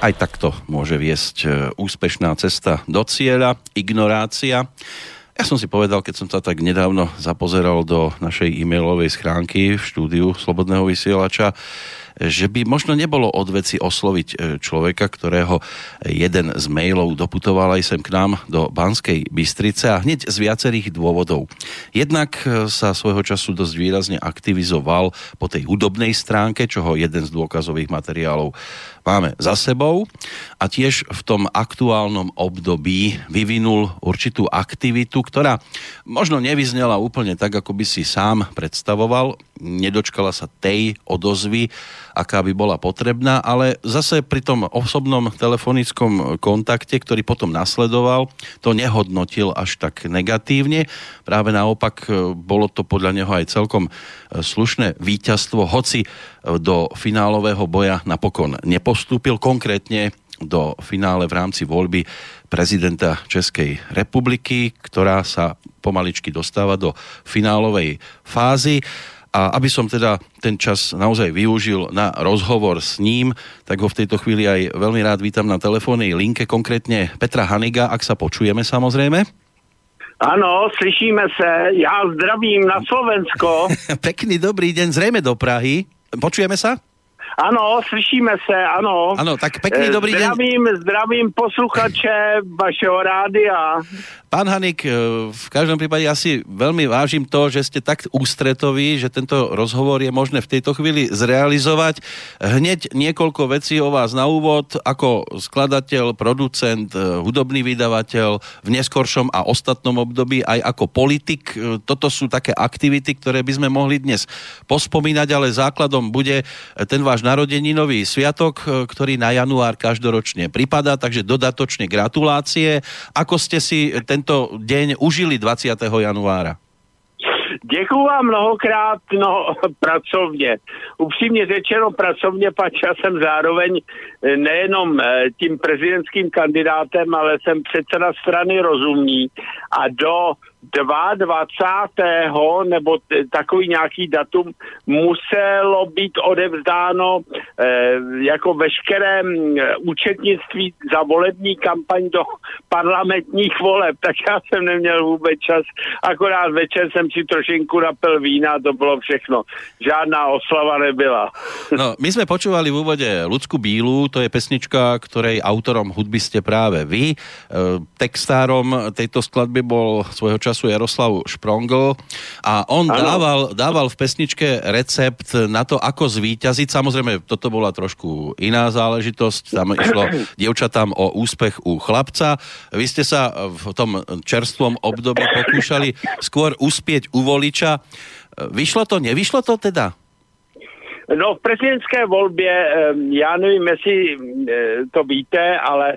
Aj takto môže viesť úspešná cesta do cieľa, ignorácia. Ja som si povedal, keď som sa tak nedávno zapozeral do našej e-mailovej schránky v štúdiu Slobodného vysielača, že by možno nebolo od veci osloviť človeka, ktorého jeden z mailov doputoval aj sem k nám do Banskej Bystrice a hneď z viacerých dôvodov. Jednak sa svojho času dosť výrazne aktivizoval po tej hudobnej stránke, čoho jeden z dôkazových materiálov máme za sebou, a tiež v tom aktuálnom období vyvinul určitú aktivitu, ktorá možno nevyznela úplne tak, ako by si sám predstavoval, nedočkala sa tej odozvy, aká by bola potrebná, ale zase pri tom osobnom telefonickom kontakte, ktorý potom nasledoval, to nehodnotil až tak negatívne. Práve naopak, bolo to podľa neho aj celkom slušné víťazstvo, hoci do finálového boja napokon nepostúpil, konkrétne do finále v rámci voľby prezidenta Českej republiky, ktorá sa pomaličky dostáva do finálovej fázy. A aby som teda ten čas naozaj využil na rozhovor s ním, tak ho v tejto chvíli aj veľmi rád vítam na telefónnej linke, konkrétne Petra Haniga, ak sa počujeme samozrejme. Áno, slyšíme sa. Ja zdravím na Slovensko. Pekný dobrý deň, zrejme do Prahy. Počujeme sa? Áno, slyšíme sa, áno. Áno, tak pekný dobrý deň. Zdravím posluchače vašeho rádia. Pán Hanik, v každom prípade ja si veľmi vážim to, že ste tak ústretoví, že tento rozhovor je možné v tejto chvíli zrealizovať. Hneď niekoľko vecí o vás na úvod, ako skladateľ, producent, hudobný vydavateľ, v neskoršom a ostatnom období aj ako politik. Toto sú také aktivity, ktoré by sme mohli dnes pospomínať, ale základom bude ten váš narodeninový sviatok, ktorý na január každoročne pripadá, takže dodatočne gratulácie. Ako ste si tento deň užili 20. januára? Děkuju vám mnohokrát, pracovně. Upřímně řečeno pracovně, pač já jsem zároveň nejenom tím prezidentským kandidátem, ale jsem předseda strany Rozumní a do 22. nebo takový nějaký datum muselo být odevzdáno jako veškeré účetnictví za volební kampaň do parlamentních voleb, tak já jsem neměl vůbec čas, akorát večer jsem si trošinku napil vína, to bylo všechno. Žádná oslava nebyla. No, my sme počúvali v úvode Ľudsku Bílu, to je pesnička, ktorej autorom hudby ste práve vy. Textárom tejto skladby bol svojho času Jaroslav Šprongl a on dával v pesničke recept na to, ako zvíťaziť. Samozrejme, toto bola trošku iná záležitosť. Tam išlo dievčatám o úspech u chlapca. Vy ste sa v tom čerstvom období pokúšali skôr uspieť u voliča. Vyšlo to, nevyšlo to teda? No, v prezidentské volbě, já nevím, jestli to víte, ale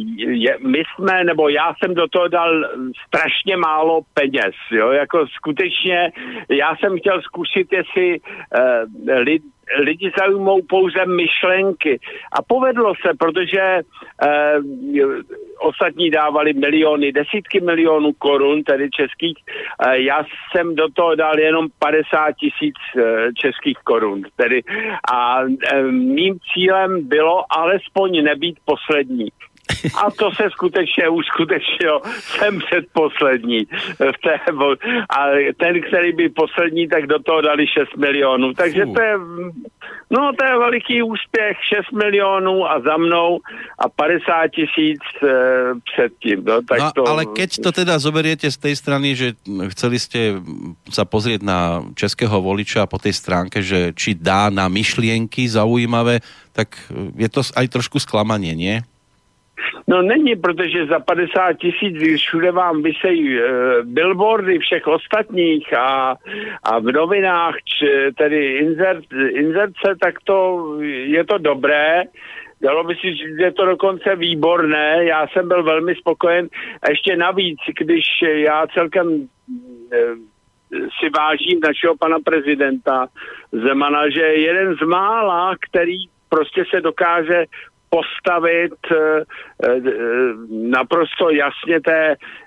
já jsem do toho dal strašně málo peněz, jo, jako skutečně, já jsem chtěl zkusit, jestli lidi zaujmou pouze myšlenky. A povedlo se, protože ostatní dávali miliony, desítky milionů korun, tedy českých. Já jsem do toho dal jenom 50 000 českých korun. Tedy. A mým cílem bylo alespoň nebýt poslední. A to se skutečně uskutečnilo. Jsem předposlední. A ten, který byl poslední, tak do toho dali 6 milionů. Takže to je veliký úspěch. 6 milionů a za mnou a 50 000 předtím. No, tak to... Ale keď to teda zoberiete z tej strany, že chceli ste sa pozrieť na českého voliča po tej stránke, že či dá na myšlienky zaujímavé, tak je to aj trošku sklamanie, nie? No není, protože za 50 000, když všude vám vysejí billboardy všech ostatních a v novinách, tedy inzerce, tak to je to dobré. Dalo by si říct, že je to dokonce výborné. Já jsem byl velmi spokojen. A ještě navíc, když já celkem si vážím našeho pana prezidenta Zemana, že je jeden z mála, který prostě se dokáže postavit naprosto jasně té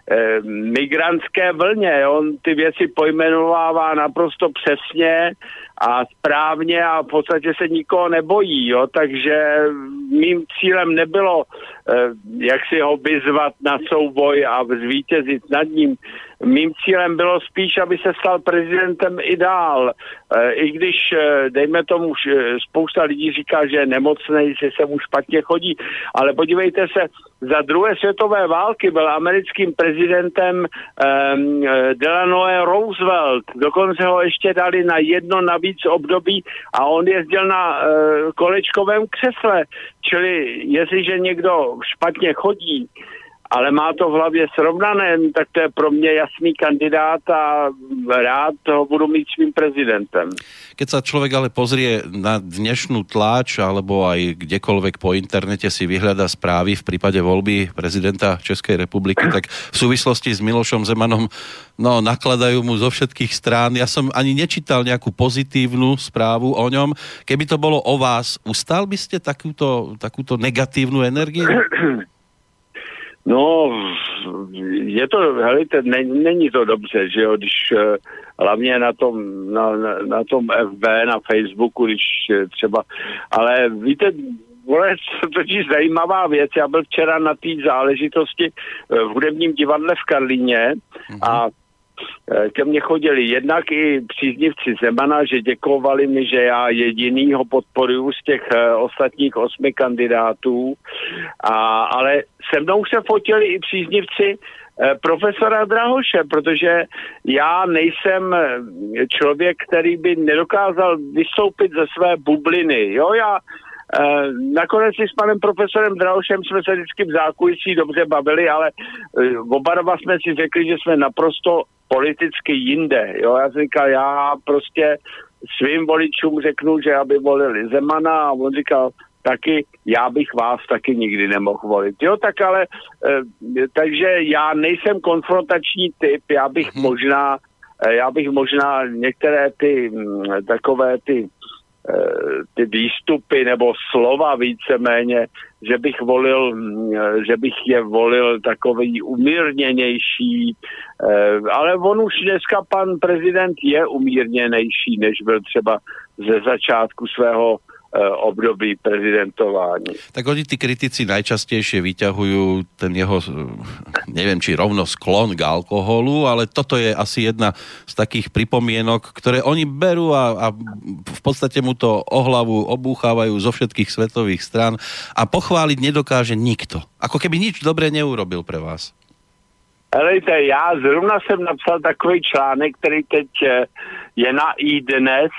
migrantské vlně. On ty věci pojmenovává naprosto přesně a správně a v podstatě se nikoho nebojí, jo, takže mým cílem nebylo jak si ho vyzvat na souboj a zvítězit nad ním. Mým cílem bylo spíš, aby se stal prezidentem i dál. I když, dejme tomu, spousta lidí říká, že je nemocnej, že se mu špatně chodí, ale podívejte se, za druhé světové války byl americkým prezidentem Delano Roosevelt. Dokonce ho ještě dali na jedno navíc období a on jezdil na kolečkovém křesle. Čili jestliže někdo špatně chodí, ale má to v hlavě srovnané, tak to je pro mě jasný kandidát a rád ho budu mít svým prezidentem. Keď sa človek ale pozrie na dnešnú tlač alebo aj kdekoľvek po internete si vyhľadá správy v prípade voľby prezidenta Českej republiky, tak v súvislosti s Milošom Zemanom nakladajú mu zo všetkých strán. Ja som ani nečítal nejakú pozitívnu správu o ňom. Keby to bolo o vás, ustal by ste takúto negatívnu energiu? No, je to, helejte, není to dobře, že jo, když hlavně na tom FB, na Facebooku, když třeba, ale víte, vole, totiž zajímavá věc, já byl včera na té záležitosti v hudebním divadle v Karlíně a ke mně chodili jednak i příznivci Zemana, že děkovali mi, že já jediný ho podporuju z těch ostatních 8 kandidátů, ale se mnou se fotili i příznivci profesora Drahoše, protože já nejsem člověk, který by nedokázal vystoupit ze své bubliny. Jo, já nakonec si s panem profesorem Drahošem jsme se vždycky v zákulisí dobře bavili, ale oba dva jsme si řekli, že jsme naprosto politicky jinde. Jo, já jsem říkal, já prostě svým voličům řeknu, že aby volili Zemana a on říkal, taky já bych vás taky nikdy nemohl volit. Jo, tak ale, takže já nejsem konfrontační typ, já bych možná některé ty takové ty výstupy nebo slova víceméně, že bych je volil takový umírněnější, ale on už dneska pan prezident je umírněnější, než byl třeba ze začátku svého období prezidentování. Tak oni tí kritici najčastejšie vyťahujú ten jeho, neviem, či rovno sklon k alkoholu, ale toto je asi jedna z takých pripomienok, ktoré oni berú a v podstate mu to o hlavu obúchávajú zo všetkých svetových strán a pochváliť nedokáže nikto. Ako keby nič dobre neurobil pre vás. Helejte, já zrovna jsem napsal takový článek, který teď je na iDnes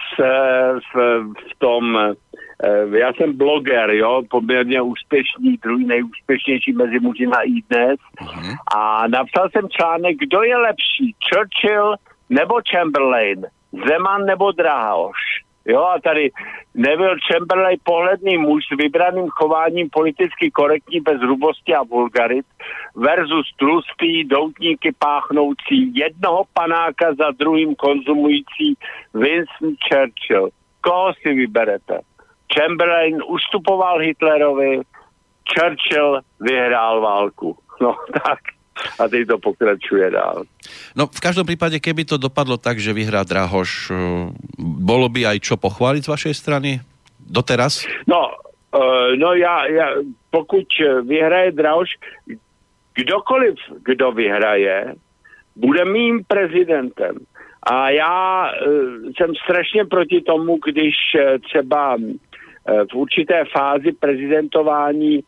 v tom, já jsem bloger, jo, poměrně úspěšný, druhý nejúspěšnější mezi muži na iDnes a napsal jsem článek, kdo je lepší, Churchill nebo Chamberlain, Zeman nebo Drahoš. Jo, a tady Neville Chamberlain, pohledný muž s vybraným chováním politicky korektní bez hrubosti a vulgarit versus tlustý, doutníky páchnoucí, jednoho panáka za druhým konzumující Winston Churchill. Koho si vyberete? Chamberlain ustupoval Hitlerovi, Churchill vyhrál válku. No tak. A teď to pokračuje dál. No v každom prípade, keby to dopadlo tak, že vyhrá Drahoš, bolo by aj čo pochváliť z vašej strany doteraz? No já pokud vyhraje Drahoš, kdokoliv, kdo vyhraje, bude mým prezidentem. A já jsem strašně proti tomu, když třeba v určité fázi prezidentování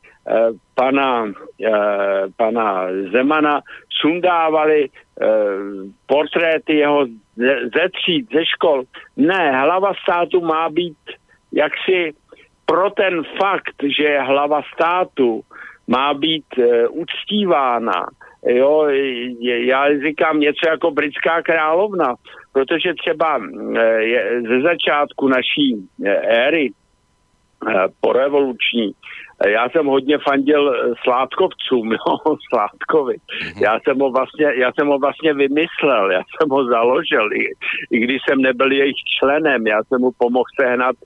pana Zemana sundávali portréty jeho ze tříd, ze škol. Ne, hlava státu má být jaksi pro ten fakt, že je hlava státu, má být uctívána. Jo, já říkám něco jako britská královna, protože třeba ze začátku naší éry porevoluční, já jsem hodně fandil Sládkovcům, jo, Sládkovi. Já jsem ho vlastně vymyslel, já jsem ho založil, i když jsem nebyl jejich členem, já jsem mu pomohl sehnat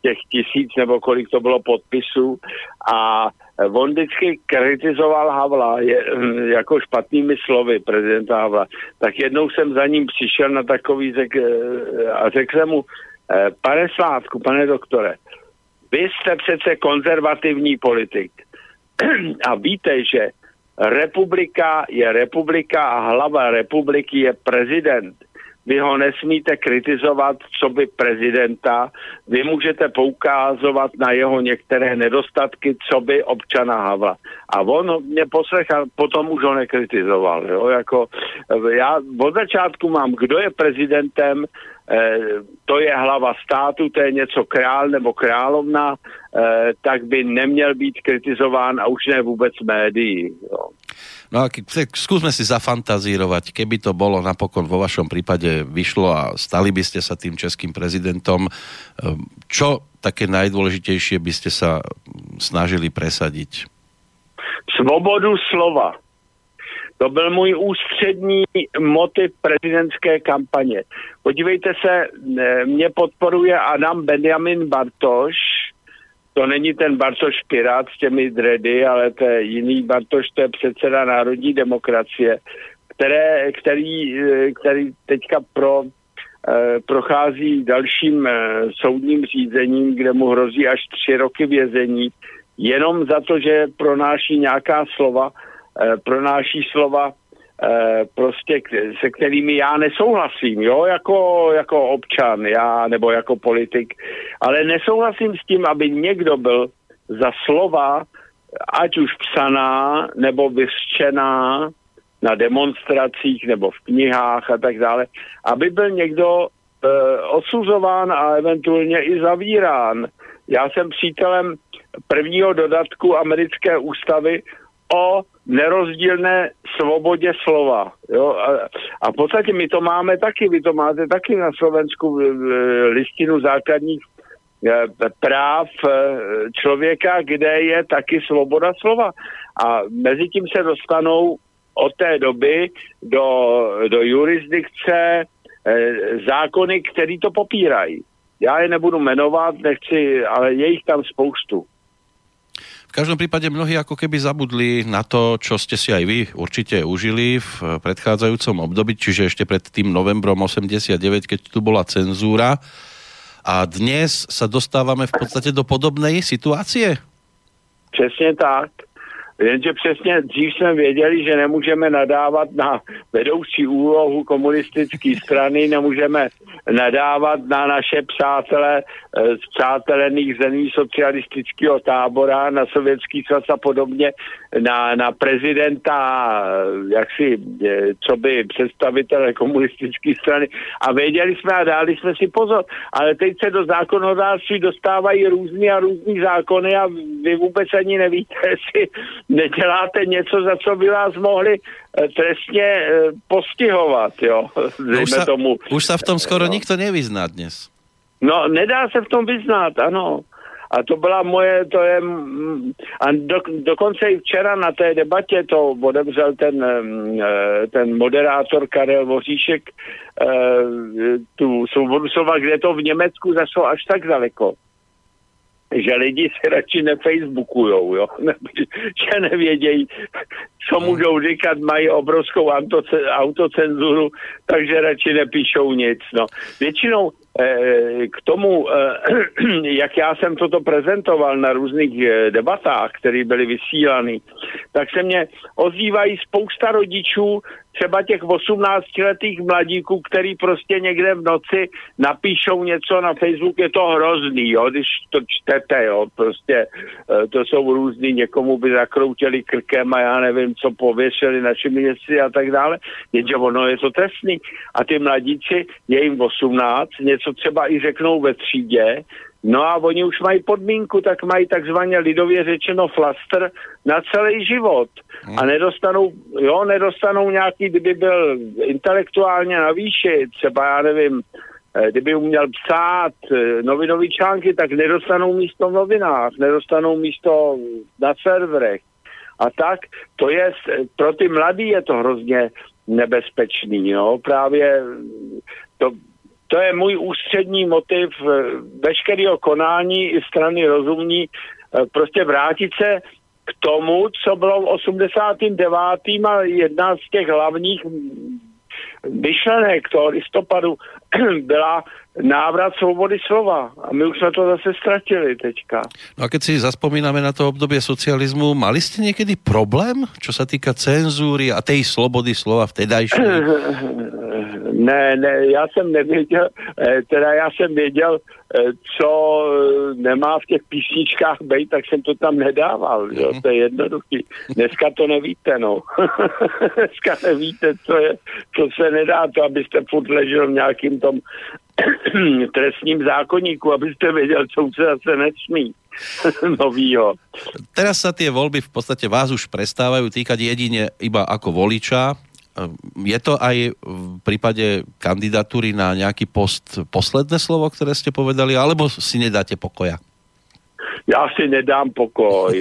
těch 1000 nebo kolik to bylo podpisů a on vždycky kritizoval Havla jako špatnými slovy prezidenta Havla. Tak jednou jsem za ním přišel na takový a řekl jsem mu, pane Sládku, pane doktore, vy jste přece konzervativní politik a víte, že republika je republika a hlava republiky je prezident. Vy ho nesmíte kritizovat, co by prezidenta, vy můžete poukázovat na jeho některé nedostatky, co by občana Havla. A on mě poslechal, potom už ho nekritizoval. Jo? Jako, já od začátku mám, kdo je prezidentem, to je hlava státu, to je něco král nebo královna, tak by neměl být kritizován a už ne vůbec médií. Jo. No a skúsme si zafantazírovať, keby to bolo napokon vo vašom prípade vyšlo a stali by ste sa tým českým prezidentom, čo také najdôležitejšie by ste sa snažili presadiť? Svobodu slova. To byl můj ústřední motiv prezidentské kampaně. Podívejte se, mě podporuje Adam Benjamin Bartoš. To není ten Bartoš Pirát s těmi dredy, ale to je jiný Bartoš, to je předseda Národní demokracie, který teďka prochází dalším soudním řízením, kde mu hrozí až 3 roky vězení, jenom za to, že pronáší nějaká slova, prostě se kterými já nesouhlasím, jo, jako občan, já nebo jako politik, ale nesouhlasím s tím, aby někdo byl za slova, ať už psaná nebo vyřčená na demonstracích nebo v knihách a tak dále, aby byl někdo odsuzován a eventuálně i zavírán. Já jsem přítelem prvního dodatku americké ústavy o nerozdílné svobodě slova. Jo? A v podstatě my to máme taky, vy to máte taky na Slovensku listinu základních práv člověka, kde je taky svoboda slova. A mezi tím se dostanou od té doby do jurisdikce zákony, které to popírají. Já je nebudu jmenovat, nechci, ale je jich tam spoustu. V každom prípade mnohí ako keby zabudli na to, čo ste si aj vy určite užili v predchádzajúcom období, čiže ešte pred tým novembrom 89, keď tu bola cenzúra. A dnes sa dostávame v podstate do podobnej situácie? Přesně tak. Jenže přesně dřív jsme věděli, že nemůžeme nadávat na vedoucí úlohu komunistické strany, nemůžeme nadávat na naše přátele z přátelených zemí socialistického tábora, na Sovětský svaz a podobně, na prezidenta, jaksi, co by představitele komunistické strany. A věděli jsme a dali jsme si pozor. Ale teď se do zákonodárství dostávají různý zákony a vy vůbec ani nevíte, jestli neděláte něco, za co by vás mohli trestně postihovat, jo. Už sa v tom skoro nikto nevyzná dnes. No, nedá se v tom vyznat, ano. A to byla dokonce i včera na té debatě to odevřel ten moderátor Karel Voříšek tu svobodu slova, kde to v Německu zašlo až tak daleko, že lidi si radši nefacebookujou, jo? Že nevědějí, co můžou říkat, mají obrovskou autocenzuru, takže radši nepíšou nic. No. Většinou k tomu, jak já jsem toto prezentoval na různých debatách, které byly vysílány, tak se mě ozývají spousta rodičů, třeba těch 18letých mladíků, který prostě někde v noci napíšou něco na Facebook, je to hrozný, jo, když to čtete, jo, prostě to jsou různý, někomu by zakroutili krkem a já nevím, co pověšili našimi městci a tak dále, jenže ono je to trestný. A ty mladíci, je jim 18, něco třeba i řeknou ve třídě, no a oni už mají podmínku, tak mají takzvaně lidově řečeno flaster na celý život. A nedostanou nějaký, kdyby byl intelektuálně na výši, třeba já nevím, kdyby uměl psát novinové články, tak nedostanou místo v novinách, nedostanou místo na serverech. A tak to je, pro ty mladý je to hrozně nebezpečný, jo, právě To je můj ústřední motiv veškerého konání i strany rozumní, prostě vrátit se k tomu, co bylo v 89. a jedna z těch hlavních myšlenek toho listopadu byla návrat svobody slova. A my už jsme to zase ztratili teďka. No a keď si zaspomíname na to obdobie socializmu, mali ste niekedy problém, čo sa týka cenzúry a tej slobody slova vtedajšej? Ne, já jsem nevěděl, já jsem věděl, co nemá v těch písničkách být, tak jsem to tam nedával, jo? To je jednoduchý. Dneska to nevíte, no. Dneska nevíte, co se nedá, to abyste furt ležel v nějakým tom trestním zákonníku, abyste věděl, co se zase nesmí novýho. Teraz sa tie voľby v podstate vás už prestávajú týkať jedine iba ako voliča. Je to aj v prípade kandidatúry na nejaký post posledné slovo, ktoré ste povedali, alebo si nedáte pokoja? Já si nedám pokoj.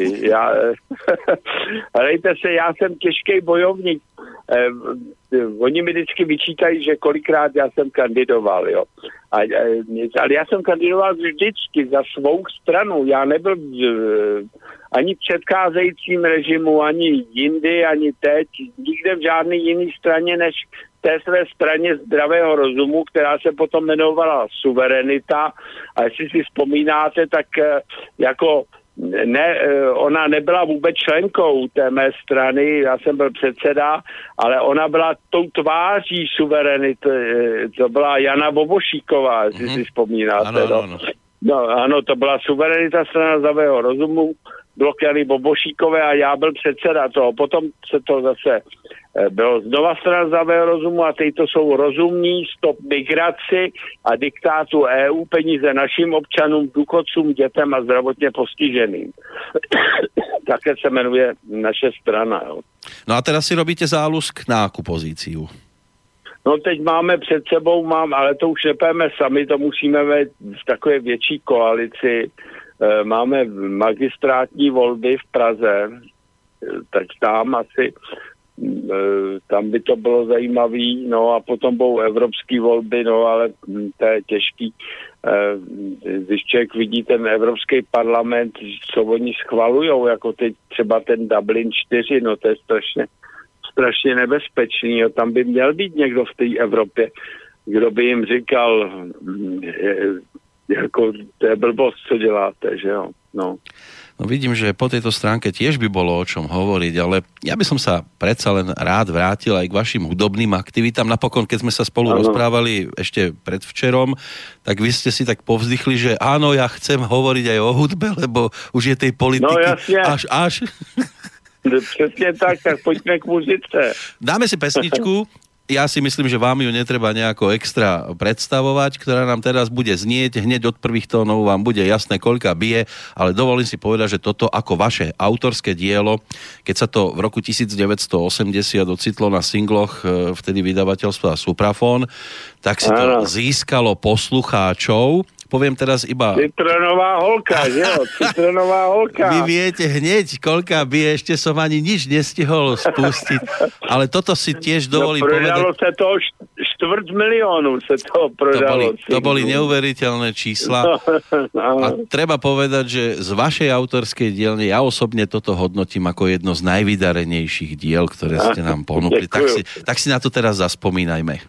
Hlejte se, já jsem těžký bojovník. Oni mi vždycky vyčítají, že kolikrát já jsem kandidoval, jo. Ale já jsem kandidoval vždycky za svou stranu. Já nebyl ani v předcházejícím režimu, ani jindy, ani teď, nikde v žádné jiné straně, než té své straně zdravého rozumu, která se potom jmenovala Suverenita. A jestli si vzpomínáte, tak jako ona nebyla vůbec členkou té mé strany, já jsem byl předseda, ale ona byla tou tváří Suverenity, to byla Jana Bobošíková, jestli si vzpomínáte. Ano. No, ano, to byla Suverenita, strana zdravého rozumu, blok Jany Bobošíkové a já byl předseda toho. Potom se to zase bylo znova strana zdravého rozumu a teď to jsou rozumní, stop migraci a diktátu EU, peníze našim občanům, důchodcům, dětem a zdravotně postiženým. Také se jmenuje naše strana. Jo. No a teraz si robíte záľusk na akú pozíciu? No teď máme před sebou, ale to už nepojeme sami, to musíme v takové větší koalici. Máme magistrátní volby v Praze, tak tam asi tam by to bylo zajímavý, no a potom budou evropské volby, no ale to je těžký. Když člověk vidí ten Evropský parlament, co oni schvalujou, jako teď třeba ten Dublin 4, no to je strašně nebezpečný, jo. Tam by měl být někdo v té Evropě, kdo by jim říkal, jako to je blbost, co děláte, že jo, no. No vidím, že po tejto stránke tiež by bolo o čom hovoriť, ale ja by som sa predsa len rád vrátil aj k vašim hudobným aktivitám. Napokon, keď sme sa spolu rozprávali ešte predvčerom, tak vy ste si tak povzdychli, že áno, ja chcem hovoriť aj o hudbe, lebo už je tej politiky až. Přesně tak pojďme k muzice. Dáme si pesničku. Ja si myslím, že vám ju netreba nejako extra predstavovať, ktorá nám teraz bude znieť. Hneď od prvých tónov vám bude jasné, koľka bije, ale dovolím si povedať, že toto ako vaše autorské dielo, keď sa to v roku 1980 ocitlo na singloch vtedy vydavateľstva Suprafon, tak si to získalo poslucháčov. Poviem teraz iba... Citronová holka, že jo? Citronová holka. Vy viete hneď, koľka by ešte som ani nič nestihol spustiť. Ale toto si tiež dovolím povedať. Prodalo sa to 250 000 sa to prodalo. To boli neuveriteľné čísla. A treba povedať, že z vašej autorskej dielne ja osobne toto hodnotím ako jedno z najvydarenejších diel, ktoré ste nám ponúkli. Tak si na to teraz zaspomínajme.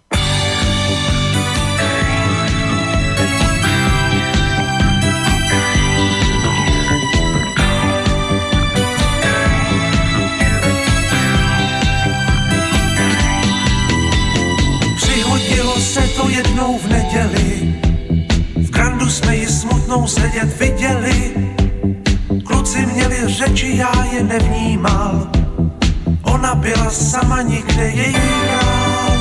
Jednou v neděli v Grandu jsme ji smutnou sedět viděli. Kluci měli řeči, já je nevnímal. Ona byla sama, nikde její král.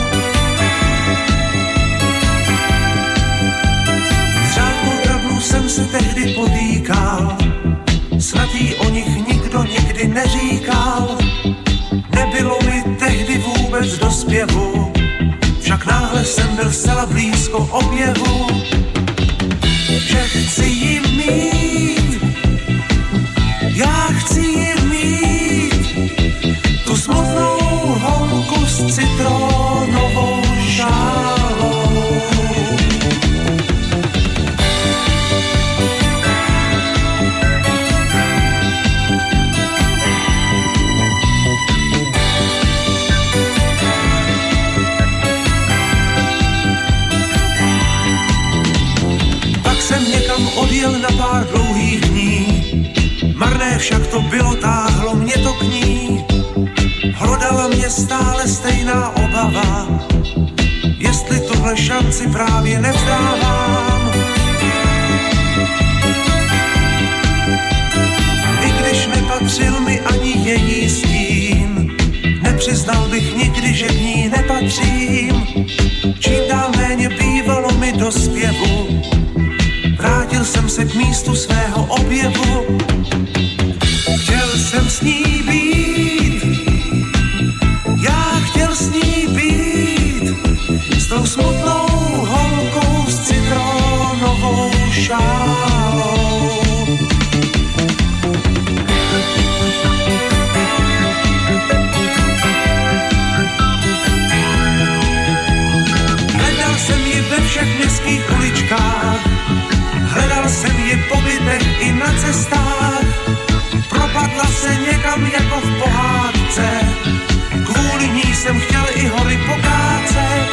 S řádkou drabnou jsem se tehdy potýkal. Snad jí o nich nikdo nikdy neříkal. Nebylo mi tehdy vůbec do zpěvu, však náhle jsem byl zcela blízko objevu, že chci ji mít, já chci ji mít, tu smutnou holku s citronovou šálou. jsem někam odjel na pár dlouhých dní, marné však to bylo, táhlo mě to k ní. Hlodala mě stále stejná obava, jestli tuhle šanci právě nevzdávám. I když nepatřil mi ani její stín, nepřiznal bych nikdy, že k ní nepatřím. Čím dál méně bývalo mi do zpěvu, vrátil jsem se k místu svého objevu. Chtěl jsem s ní být, já chtěl s ní být, s tou smutnou holkou s citronovou šálou. Hledal jsem ji ve všech městských uličkách, hledal jsem ji po bytech i na cestách. Propadla se někam jako v pohádce, kvůli ní jsem chtěl i hory pokácet.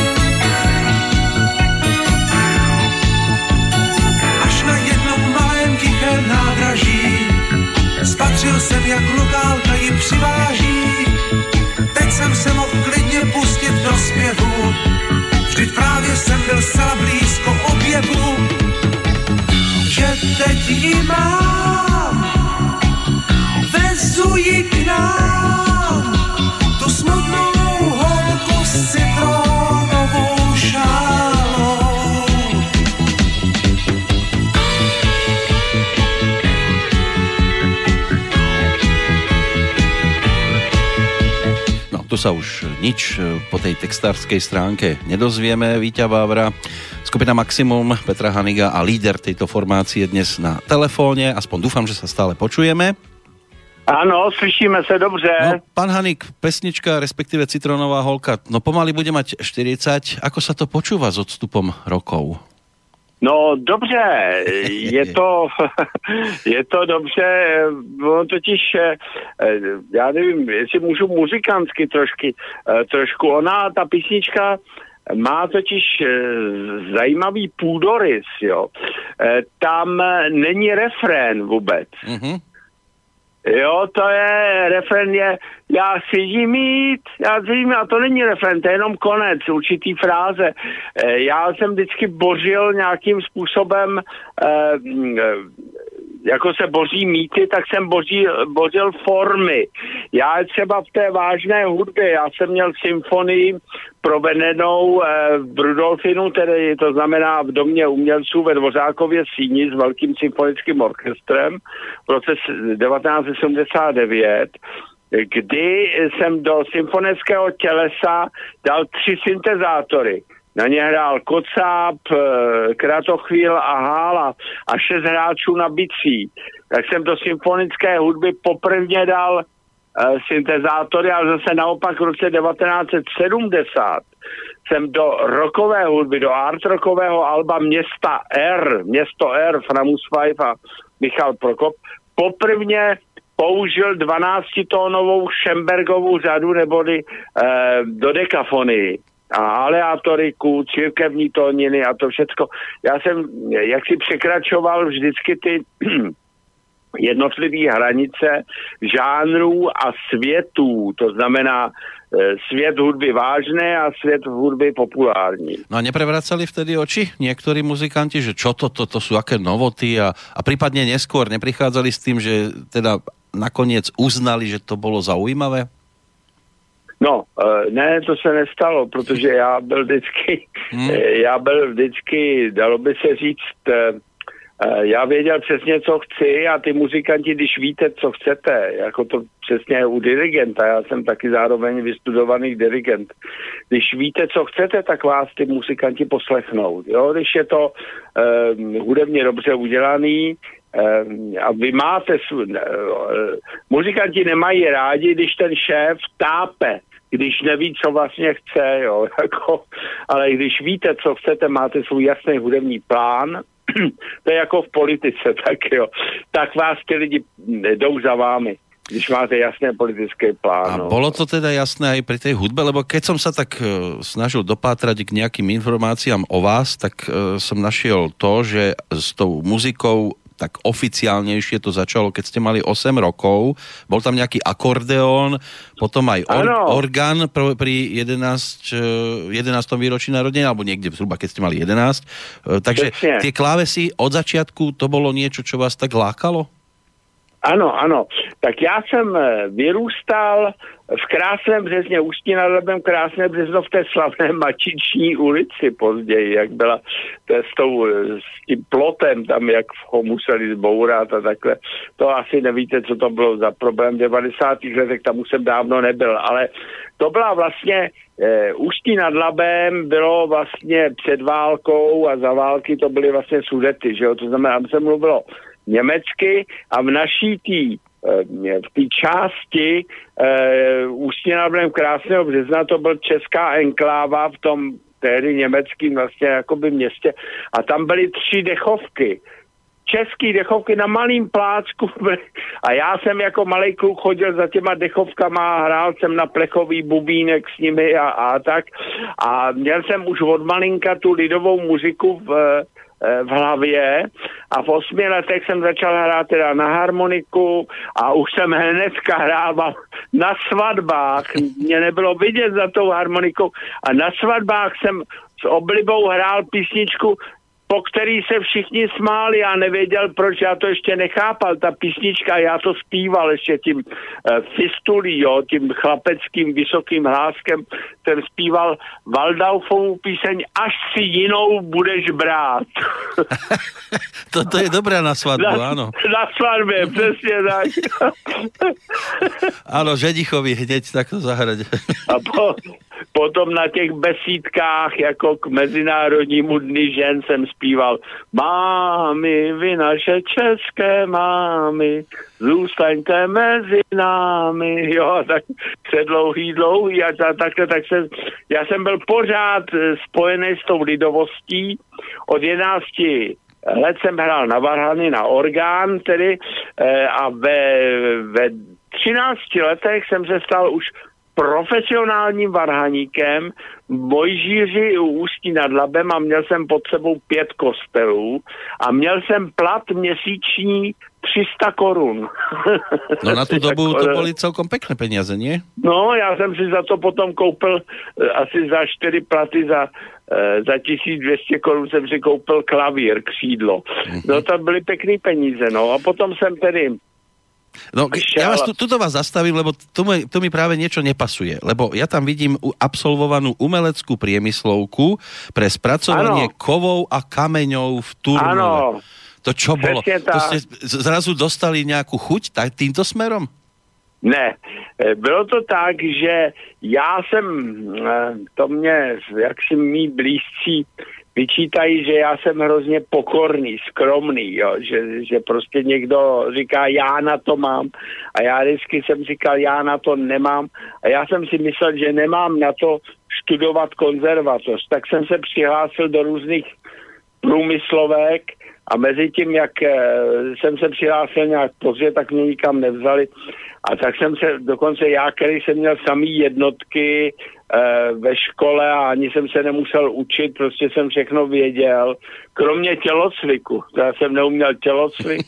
Až na jednom malém tichém nádraží spatřil jsem, jak lokálka ji přiváží. Teď jsem se mohl klidně pustit do zpěvu, vždyť právě jsem byl zcela blízko objevu. Že teď ji mám, vezu ji k nám, tu smutnou holku s citronovou šálou. No, tu sa už nič po tej textárskej stránke nedozvieme. Víťa Vávra, skupina Maximum, Petra Haniga a líder tejto formácie dnes na telefóne. Aspoň dúfam, že sa stále počujeme. Áno, slyšíme sa dobře. No, pán Hanik, pesnička, respektíve Citronová holka, no pomaly bude mať 40. Ako sa to počúva s odstupom rokov? No dobře, je to dobře, no, totiž, já nevím, jestli můžu muzikantsky trošku, ona, ta písnička, má totiž zajímavý půdorys, jo. Tam není refrén vůbec. Mm-hmm. Jo, to je, refrén je, já chci jí mít, a to není refrén, to je jenom konec, určitý fráze. Já jsem vždycky bořil nějakým způsobem, jako se boří mýty, tak jsem bořil formy. Já třeba v té vážné hudbě, já jsem měl symfonii provedenou v Rudolfinu, tedy to znamená v Domě umělců ve Dvořákově síni s velkým symfonickým orchestrem v roce 1979, kdy jsem do symfonického tělesa dal 3 syntezátory. Na ně hrál Kocáb, Kratochvíl a Hála a 6 hráčů na bicí. Tak jsem do symfonické hudby poprvně dal syntezátory, ale zase naopak v roce 1970 jsem do rockové hudby, do art rockového alba Město R, Framus 5 a Michal Prokop, poprvně použil 12-tónovou Schembergovou řadu neboli dodekafonii a aleatoriku, církevní tóniny a to všecko. Já jsem jaksi překračoval vždycky ty jednotlivé hranice žánrů a světů, to znamená svět hudby vážné a svět hudby populární. No a neprevracali vtedy oči niektorí muzikanti, že čo to sú aké novoty a prípadne neskôr neprichádzali s tým, že teda nakoniec uznali, že to bolo zaujímavé? No, ne, to se nestalo, protože já byl vždycky, dalo by se říct, já věděl přesně, co chci a ty muzikanti, když víte, co chcete, jako to přesně u dirigenta, já jsem taky zároveň vystudovaný dirigent, když víte, co chcete, tak vás ty muzikanti poslechnou, jo, když je to hudebně dobře udělaný, a vy máte, muzikanti nemají rádi, když ten šéf tápe, když neví, co vlastně chce, jo, jako, ale když víte, co chcete, máte svůj jasný hudební plán, to je jako v politice, tak jo, tak vás ty lidi jdou za vámi. když máte jasné politické plán. A bolo to teda jasné aj pri tej hudbe, lebo keď som sa tak snažil dopátrať k nejakým informáciám o vás, tak som našiel to, že s tou muzikou tak oficiálnejšie to začalo, keď ste mali 8 rokov. Bol tam nejaký akordeón, potom aj orgán pri 11. výročí narodenia, alebo niekde zhruba, keď ste mali 11. Takže tie klávesy od začiatku, to bolo niečo, čo vás tak lákalo? Ano. Tak já jsem vyrůstal v Krásném Březně, Ústí nad Labem, Krásné Březno v té slavné Mačiční ulici později, jak byla s tím plotem tam, jak ho museli zbourat a takhle. To asi nevíte, co to bylo za problém v 90. letech, tam už jsem dávno nebyl, ale to byla vlastně Ústí nad Labem bylo vlastně před válkou a za války to byly vlastně Sudety, že jo, to znamená, tam se mluvilo německy a v naší v té části Ústí nad Labem Krásného Března to byl česká enkláva v tom tehdy německým vlastně jakoby městě a tam byly 3 dechovky. Český dechovky na malým plácku a já jsem jako malej kluk chodil za těma dechovkama, hrál jsem na plechový bubínek s nimi a tak a měl jsem už od malinka tu lidovou muziku v hlavě a v 8 letech jsem začal hrát teda na harmoniku a už jsem hnedka hrával na svatbách, mě nebylo vidět za tou harmonikou a na svatbách jsem s oblibou hrál písničku, po který se všichni smáli, já nevěděl, proč, já to ještě nechápal, ta písnička, já to zpíval ještě tím fistulí, jo, tím chlapeckým vysokým hláskem, jsem zpíval Waldorfovou píseň Až si jinou budeš brát. To je dobré na svatbu, áno. Na svadbe, přesně tak. Áno, ženichovi hneď takto zahrať. A potom na těch besídkách, jako k Mezinárodnímu dni žen jsem zpíval Mámy, vy naše české mámy, zůstaňte mezi námi, jo, tak se dlouhý a takhle, já jsem byl pořád spojený s tou lidovostí. Od 11 let jsem hrál na varhany, na orgán tedy a ve 13 letech jsem se stal už profesionálním varhaníkem v Mojžíři u Ústí nad Labem a měl jsem pod sebou 5 kostelů a měl jsem plat měsíční 300 korun. No na tu dobu to byly celkom pekné peniaze, nie? No, já jsem si za to potom koupil asi za 4 platy za 1200 korun jsem si koupil klavír, křídlo. No to byly pekné peníze, no a potom jsem tedy No, ja vás tuto vás zastavím, lebo tu mi práve niečo nepasuje, lebo ja tam vidím absolvovanú umeleckú priemyslovku pre spracovanie kovov a kameňov v Turnove. Áno. To čo bolo? To ste zrazu dostali nejakú chuť týmto smerom? Ne, bylo to tak, že já jsem, to mě, jak si mý blízcí vyčítají, že já jsem hrozně pokorný, skromný, jo? Že prostě někdo říká, já na to mám a já vždycky jsem říkal, já na to nemám a já jsem si myslel, že nemám na to studovat konzervatoř, tak jsem se přihlásil do různých průmyslovek a mezi tím, jak jsem se přihlásil nějak pozdě, tak mě nikam nevzali a tak jsem se, dokonce já, který jsem měl samý jednotky ve škole a ani jsem se nemusel učit, prostě jsem všechno věděl, kromě tělocviku, já jsem neuměl tělocvik,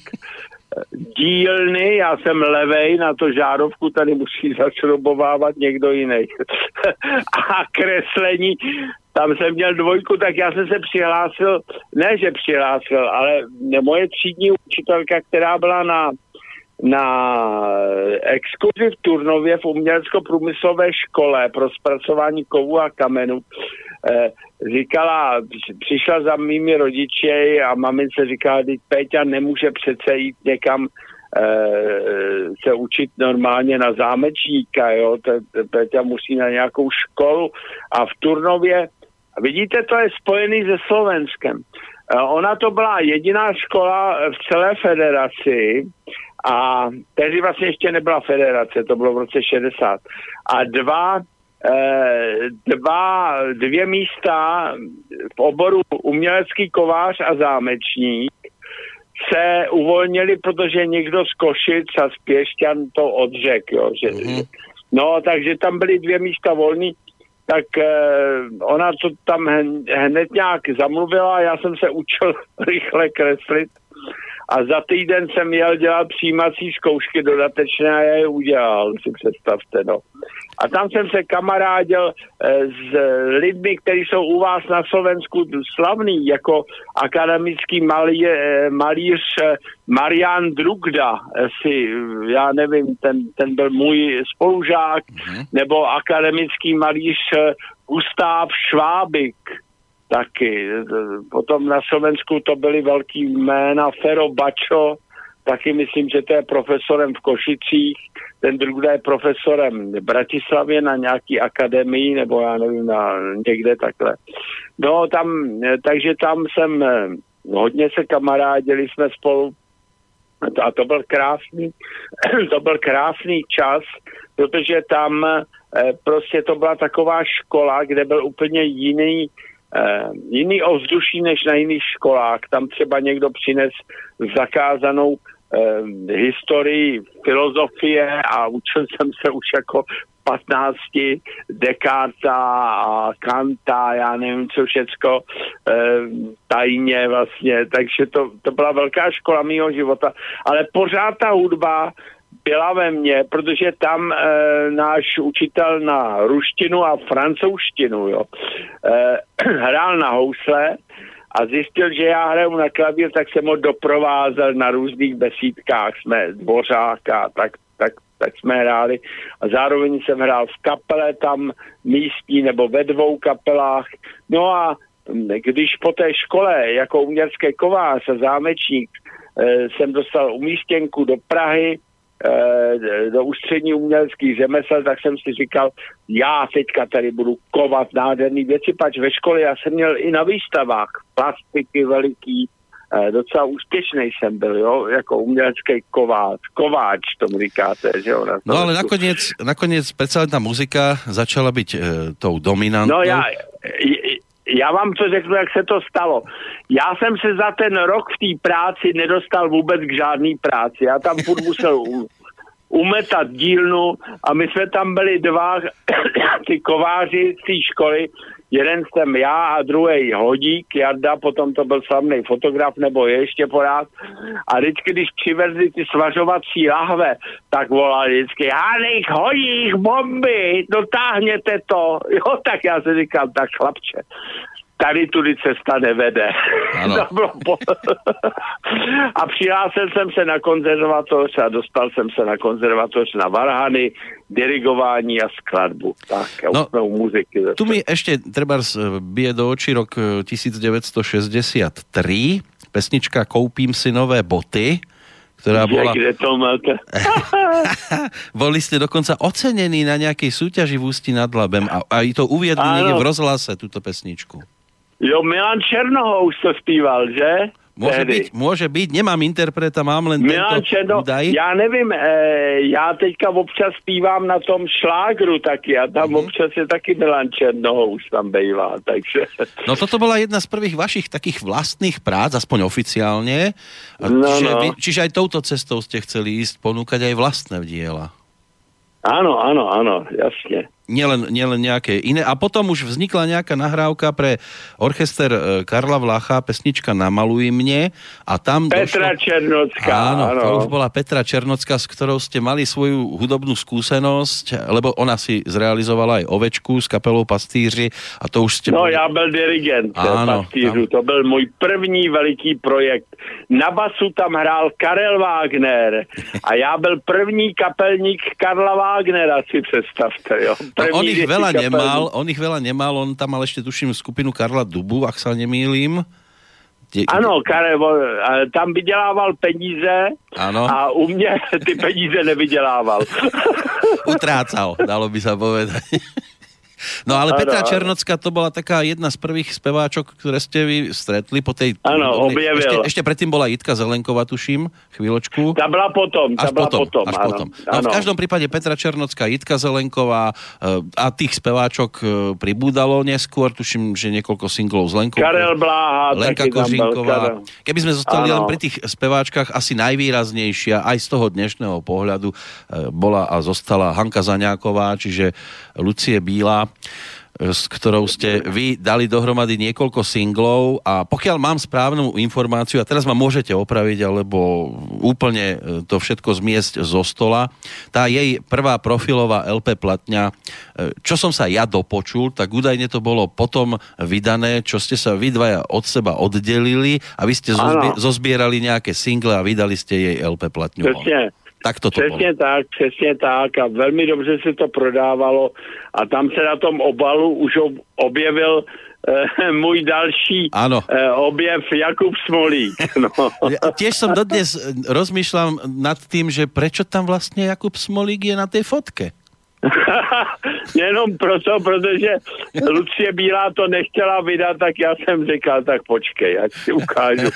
dílny, já jsem levej, na to žárovku tady musí zašrobovávat někdo jiný. A kreslení, tam jsem měl 2, tak já jsem se přihlásil, ne že přihlásil, ale moje třídní učitelka, která byla na exkurzi v Turnově v umělecko-průmyslové škole pro zpracování kovů a kamenů, říkala, přišla za mými rodiči a mamince říkala, že Péťa nemůže přece jít někam se učit normálně na zámečníka, jo, Péťa musí na nějakou školu a v Turnově, vidíte, to je spojený se Slovenskem. Ona to byla jediná škola v celé federaci a tehdy vlastně ještě nebyla federace, to bylo v roce 60. A dvě místa v oboru umělecký kovář a zámečník se uvolnili, protože někdo z Košic a z Pěšťan to odřekl, jo, no, takže tam byly 2 místa volný, tak ona to tam hned nějak zamluvila, já jsem se učil rychle kreslit a za týden jsem jel dělat přijímací zkoušky dodatečné a já je udělal, si představte, no. A tam jsem se kamarádil s lidmi, kteří jsou u vás na Slovensku slavný, jako akademický malíř Marian Drugda, já nevím, ten byl můj spolužák, nebo akademický malíř Gustav Švábik, taky. Potom na Slovensku to byly velký jména, Fero Bačo, taky myslím, že to je profesorem v Košicích, ten druhý je profesorem v Bratislavě na nějaký akademii, nebo já nevím, někde takhle. No takže tam jsem hodně se kamarádili jsme spolu a to byl krásný čas, protože tam prostě to byla taková škola, kde byl úplně jiný ovzduší než na jiných školách. Tam třeba někdo přines zakázanou historii filozofie a učil jsem se už jako 15 Descarta a Kanta, já nevím co všecko, tajně vlastně, takže to byla velká škola mýho života, ale pořád ta hudba byla ve mně, protože tam náš učitel na ruštinu a francouzštinu, jo, hrál na housle a zjistil, že já hraju na klavír, tak jsem ho doprovázel na různých besídkách, jsme Dvořáka, tak jsme hráli a zároveň jsem hrál v kapele tam místní nebo ve 2 kapelách. No a když po té škole jako umělecký kovář a zámečník jsem dostal umístěnku do Prahy, do ústřední uměleckých řemesel, tak jsem si říkal, já teďka tady budu kovat nádherný věci, pač ve škole já jsem měl i na výstavách plastiky veliký, docela úspěšný jsem byl, jo, jako umělecký kováč tomu říkáte, že jo. No ale nakoniec predsa len tá muzika začala byť tou dominantnou. No já vám to řeknu, jak se to stalo. Já jsem se za ten rok v té práci nedostal vůbec k žádný práci. Já tam furt musel umetat dílnu a my jsme tam byli 2 ty kováři z té školy. Jeden jsem já a druhý Hodík, Jarda, potom to byl slavný fotograf, nebo je ještě pořád. A vždycky, když přivezli ty svařovací lahve, tak volali vždycky, Hanek, Hodík, bomby, dotáhněte to. Jo, tak já si říkám, tak chlapče, tady tudy cesta nevede. A přihlásil jsem se na konzervatoř a dostal jsem se na konzervatoř na varhany, dirigování a skladbu. Tak, a už jsme u muziky. Tu mi ešte trebárs bije do očí rok 1963, pesnička Koupím si nové boty, ktorá bola... Kde to máte? Boli ste dokonca ocenení na nejakej súťaži v Ústí nad Labem a aj to uviedli niekde v rozhlase, túto pesničku. Jo, Milan Černohous to zpíval, že? Môže byť, nemám interpreta, mám len Milan tento údaj. Já nevím, já teďka občas zpívám na tom šlágru taky a tam občas je taky Milan Černohous tam bejvá, takže... No toto bola jedna z prvých vašich takých vlastných prác, aspoň oficiálne. Čiže aj touto cestou ste chceli ísť, ponúkať aj vlastné diela. Áno, jasne. Nielen nejaké iné. A potom už vznikla nejaká nahrávka pre orchester Karla Vlacha, pesnička Namaluj mne. A tam Petra Černocká. Áno, to už bola Petra Černocká, s ktorou ste mali svoju hudobnú skúsenosť, lebo ona si zrealizovala aj Ovečku s kapelou Pastýři. A to už ste... No, já byl dirigent Pastýřů. To byl můj první veliký projekt. Na basu tam hrál Karel Wagner. A já byl první kapelník Karla Wagnera, si představte, jo. On ich veľa nemal, on tam mal ešte, tuším, skupinu Karla Dubu, ak sa nemýlim. Ano, Karel, tam vydělával peníze a u mě ty peníze nevydělával. Utrácal, dalo by sa povedať. No ale Petra Černocká to bola taká jedna z prvých speváčok, ktoré ste vy stretli po tej... Áno, objavil. Ešte predtým bola Jitka Zelenková, tuším, chvíľočku. Tá bola potom. Až potom. No v každom prípade Petra Černocká, Jitka Zelenková a tých speváčok pribúdalo neskôr, tuším, že niekoľko singlov z Lenkou. Karel Bláha, Lenka Kožinková. Keby sme zostali len pri tých speváčkach, asi najvýraznejšia aj z toho dnešného pohľadu bola a zostala Hanka Zaňáková, čiže Lucie Bílá, s ktorou ste vy dali dohromady niekoľko singlov a pokiaľ mám správnu informáciu, a teraz ma môžete opraviť, alebo úplne to všetko zmiesť zo stola, tá jej prvá profilová LP platňa, čo som sa ja dopočul, tak údajne to bolo potom vydané, čo ste sa vy dvaja od seba oddelili a vy ste zozbierali nejaké single a vydali ste jej LP platňu. Tak to přesně tak a velmi dobře se to prodávalo a tam se na tom obalu už objevil můj další objev Jakub Smolík. No. Tiež som dodnes rozmýšľam nad tým, že prečo tam vlastne Jakub Smolík je na tej fotke. Jenom proto, protože Lucie Bílá to nechtěla vydat, tak já jsem říkal, tak počkej, ať si ukážu.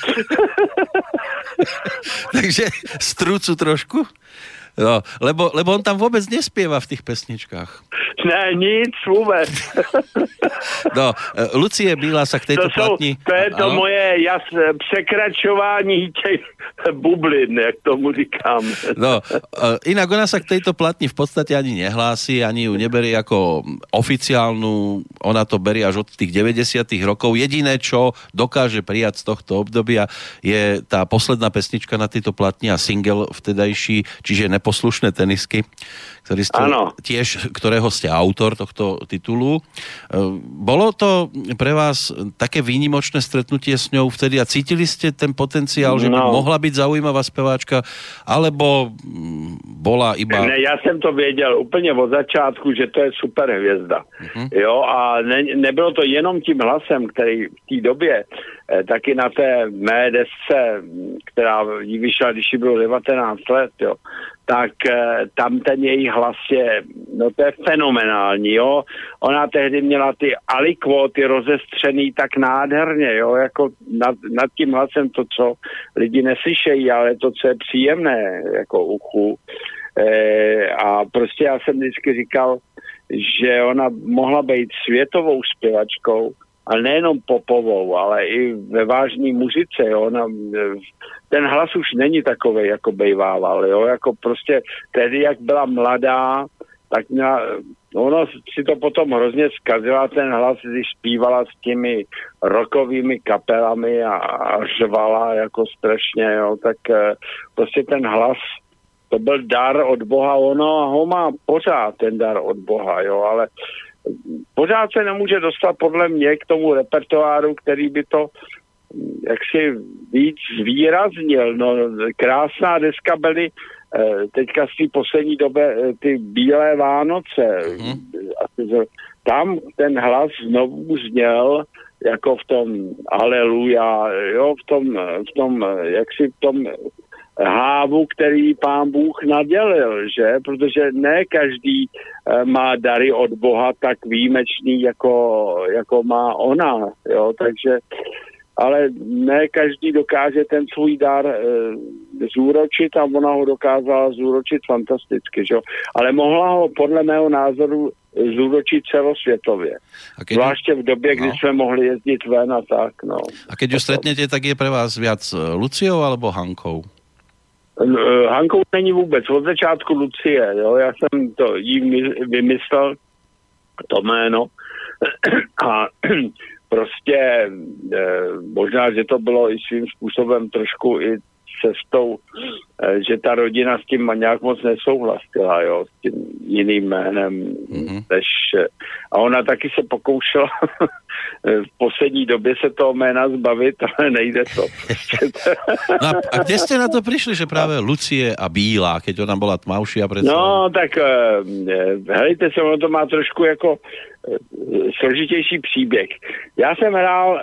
Takže strúcu trošku? No, lebo on tam vôbec nespieva v tých pesničkách. Ne, nic vôbec. No, Lucie Bílá sa k tejto platni... To je to moje překračování těch bublin, jak tomu říkám. No, inak ona sa k tejto platni v podstate ani nehlási, ani ju neberie ako oficiálnu, ona to berie až od tých 90. rokov. Jediné, čo dokáže prijať z tohto obdobia, je tá posledná pesnička na tejto platni a single vtedajší, čiže Neposlušné tenisky, ktorý ste ktorého ste autor tohto titulu. Bolo to pre vás také výnimočné stretnutie s ňou vtedy a cítili ste ten potenciál, že by mohla byť zaujímavá speváčka, alebo bola iba... Ne, ja jsem to věděl úplně od začátku, že to je super hvězda. Jo, a nebylo to jenom tím hlasem, který v té době taky na té mé desce, která jí vyšla, když jí bylo 19 let, jo, tak tam ten její hlas je, no to je fenomenální, jo. Ona tehdy měla ty alikvóty rozestřený tak nádherně, jo, jako nad tím hlasem to, co lidi neslyšejí, ale to, co je příjemné, jako uchu. A prostě já jsem vždycky říkal, že ona mohla být světovou zpěvačkou, ale nejenom popovou, ale i ve vážné muzice, jo. Ten hlas už není takovej, jako bejvával, jo. Jako prostě tehdy, jak byla mladá, tak ona si to potom hrozně zkazila ten hlas, když zpívala s těmi rockovými kapelami a řvala jako strašně, jo. Tak prostě ten hlas, to byl dar od Boha, ono ho má pořád ten dar od Boha, jo, ale pořád se nemůže dostat podle mě k tomu repertoáru, který by to jaksi víc zvýraznil. No, krásná deska byly teďka z té poslední doby ty Bílé Vánoce. Tam ten hlas znovu zněl jako v tom Aleluja, jo, v tom jaksi v tom hávu, který pán Bůh nadělil, že? Protože ne každý má dary od Boha tak výjimečný, jako má ona, jo? Takže, ale ne každý dokáže ten svůj dar zúročit a ona ho dokázala zúročit fantasticky, že? Ale mohla ho podle mého názoru zúročit celosvětově. Zvláště v době, kdy jsme mohli jezdit ven a tak, no. A keď ju stretnete, tak je pre vás viac Luciou alebo Hankou? Hankou není vůbec, od začátku Lucie, jo, já jsem to jí vymyslel, to jméno, a prostě možná, že to bylo i svým způsobem trošku i cestou, že ta rodina s tím nějak moc nesouhlasila, jo, s tím jiným jménem, než, a ona taky se pokoušela v poslední době se toho jména zbavit, ale nejde to. No a kde ste na to prišli, že práve Lucie a Bílá, keď ona bola tmavšia? No, tak hejte se, ono to má trošku jako složitější příběh. Já jsem hrál,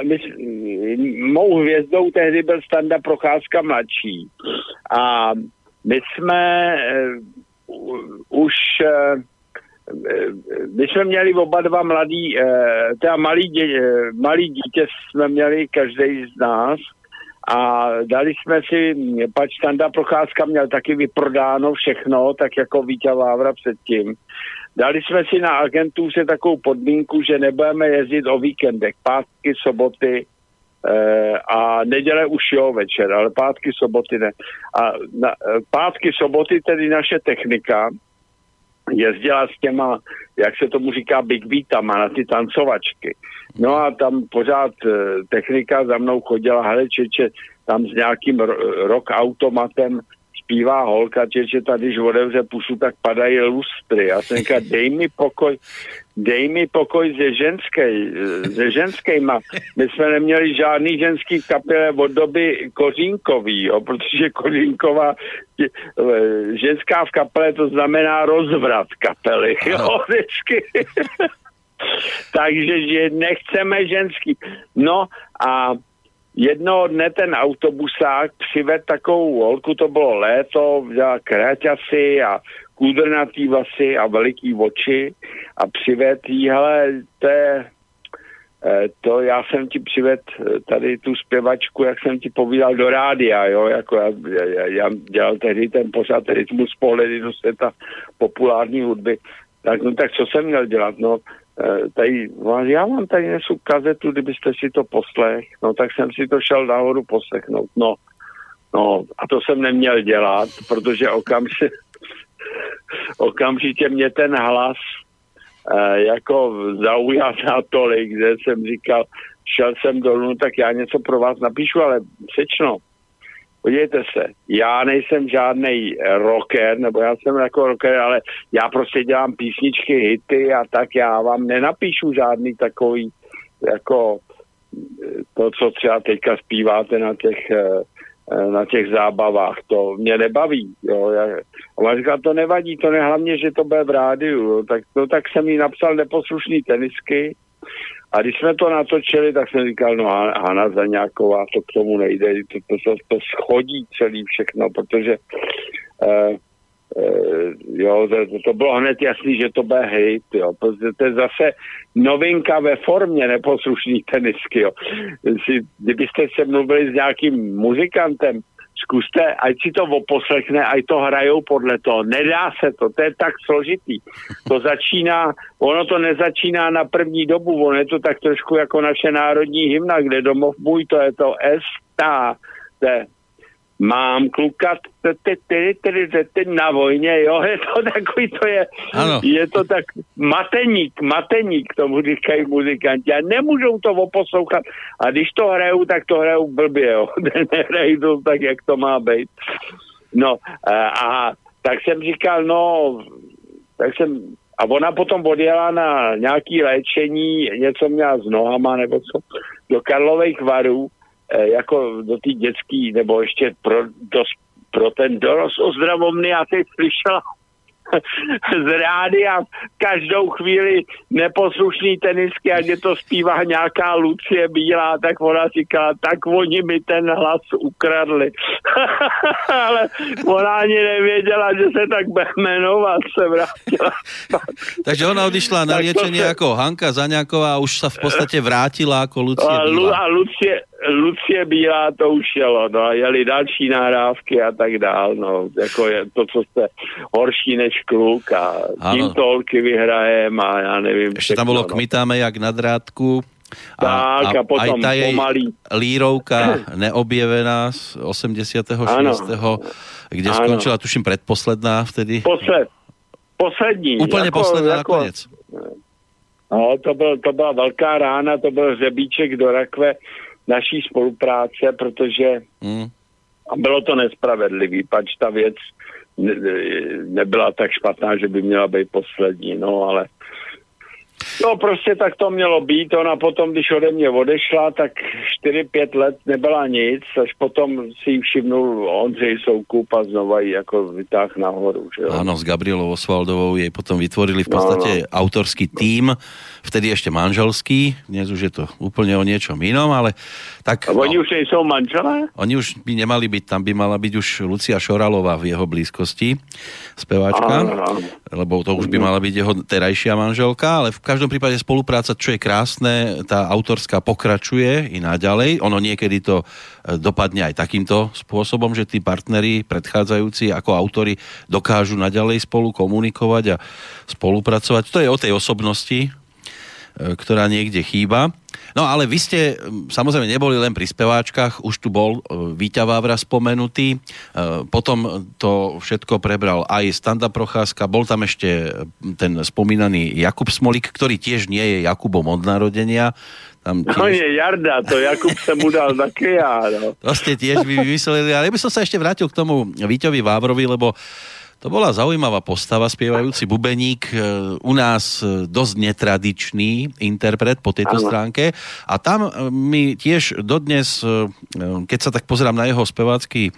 mou hvězdou tehdy byl Standa Procházka mladší a my jsme už my jsme měli oba dva teda malý dítě jsme měli každý z nás a dali jsme si, pač Standa Procházka měl taky vyprodáno všechno, tak jako Víťa Vávra předtím. Dali jsme si na agentuře takovou podmínku, že nebudeme jezdit o víkendech, pátky, soboty a neděle už jo večer, ale pátky, soboty ne. A pátky, soboty tedy naše technika jezdila s těma, jak se tomu říká, big beatama na ty tancovačky. No a tam pořád technika za mnou chodila, hele čeče, tam s nějakým rock automatem zpívá holka, čeče, tady, když odevře pusu, tak padají lustry. Já jsem říkal, dej mi pokoj ze ženskýma. My jsme neměli žádný ženský kapele od doby Kořínkový, jo, protože Kořínková ženská v kapele, to znamená rozvrat kapely, jo, vždycky. Takže nechceme ženský. No a jednoho dne ten autobusák přived takovou holku, to bylo léto, vzala kráťasy a kůdrnatý vlasy a veliký oči a přived jí, hele, to já jsem ti přived tady tu zpěvačku, jak jsem ti povídal do rádia, jo, jako já dělal tehdy ten pořád Rytmus pohledy do světa populární hudby, tak co jsem měl dělat, no, tady, já vám tady nesu kazetu, kdybyste si to poslech, no tak jsem si to šel nahoru poslechnout, no a to jsem neměl dělat, protože okamžitě mě ten hlas jako zaujal natolik, že jsem říkal, šel jsem dolů, tak já něco pro vás napíšu, ale sečno, podívejte se, já nejsem žádnej rocker, nebo já jsem jako rocker, ale já prostě dělám písničky, hity a tak já vám nenapíšu žádný takový, jako to, co třeba teďka zpíváte na těch zábavách, to mě nebaví, jo. A on říkal, to nevadí, to hlavně, že to bude v rádiu, jo. Tak jsem jí napsal Neposlušný tenisky a když jsme to natočili, tak jsem říkal, no Hana Zaňáková, to k tomu nejde, to schodí celý všechno, protože jo, to bylo hned jasný, že to bude hejt, jo, protože to je zase novinka ve formě Neposlušný tenisky, jo. Kdybyste se mluvili s nějakým muzikantem, zkuste, ať si to oposlechne, ať to hrajou podle toho. Nedá se to je tak složitý. Ono to nezačíná na první dobu, ono je to tak trošku jako naše národní hymna, kde domov můj, to je to mám kluka na vojně, jo, je to takový, je to tak mateník, tomu říkají muzikanti a nemůžou to oposlouchat a když to hrajou, tak to hrajou blbě, jo, nehrají to tak, jak to má být. No a tak jsem říkal, a ona potom odjela na nějaký léčení, něco měla s nohama nebo co, do Karlových Varů, jako do té dětský, nebo ještě pro ten dorost ozdravovny a teď slyšela z rádia každou chvíli Neposlušný tenisky, a kde to zpívá nějaká Lucie Bílá, tak ona říkala, tak oni mi ten hlas ukradli. Ale ona ani nevěděla, že se tak bude jmenovat, se vrátila. Takže ona odišla na liečenie jako Hanka Zaňáková a už sa v podstate vrátila ako Lucie Bílá. A Lucie Bílá to už jelo, no, jeli další nahrávky a tak dál, no, jako je to, co jste horší než kluk a tím tolky vyhrajem a já nevím. Ešte tam bolo Kmitáme jak na drátku a potom aj tá jej pomalý lírovka Neobjevená z 86. kde skončila, tuším, predposledná vtedy. Poslední. Úplne posledná nakoniec. No, to byla velká rána, to byl hřebíček do rakve naší spolupráce, protože a bylo to nespravedlivý, pač ta věc nebyla tak špatná, že by měla být poslední, no ale No prostě tak to mělo být, ona potom, když ode mě odešla, tak 4-5 let nebyla nic, až potom si ji všimnul Ondřej Soukup a znova ji jako vytáh nahoru. Že jo? Áno, s Gabrielou Osvaldovou jej potom vytvorili v podstate autorský tím, vtedy ešte manželský, dnes už je to úplne o niečom inom, ale tak... A oni už nejsou manželé? Oni už by nemali byť, tam by mala byť už Lucia Šoralová v jeho blízkosti, speváčka, lebo to už by mala byť jeho terajšia manželka, ale v každom prípade spolupráca, čo je krásne, tá autorská pokračuje i naďalej. Ono niekedy to dopadne aj takýmto spôsobom, že tí partneri predchádzajúci ako autori dokážu naďalej spolu komunikovať a spolupracovať. To je o tej osobnosti, ktorá niekde chýba. No ale vy ste samozrejme neboli len pri speváčkach, už tu bol Víťa Vávra spomenutý, potom to všetko prebral aj Standa Procházka, bol tam ešte ten spomínaný Jakub Smolík, ktorý tiež nie je Jakubom od narodenia. Tam tiež... No je Jarda, to Jakub sa mu dal také ja. No. To ste tiež vymysleli, ale ja by som sa ešte vrátil k tomu Víťovi Vávrovi, lebo to bola zaujímavá postava, spievajúci bubeník, u nás dosť netradičný interpret po tejto stránke. A tam mi tiež dodnes, keď sa tak pozerám na jeho spevácky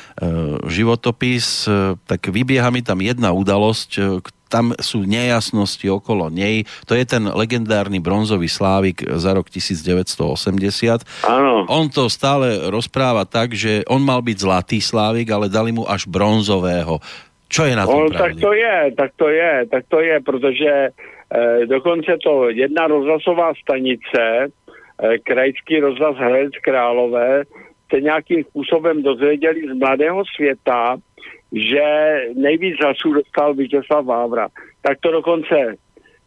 životopis, tak vybieha mi tam jedna udalosť, tam sú nejasnosti okolo nej. To je ten legendárny bronzový slávik za rok 1980. Áno. On to stále rozpráva tak, že on mal byť zlatý slávik, ale dali mu až bronzového. Čo je na tom pravdy? Tak to je, protože dokonce to jedna rozhlasová stanice, krajský rozhlas Hradec Králové, se nějakým způsobem dozvěděli z Mladého světa, že nejvíc hlasů dostal Vítězslav Vávra. Tak to dokonce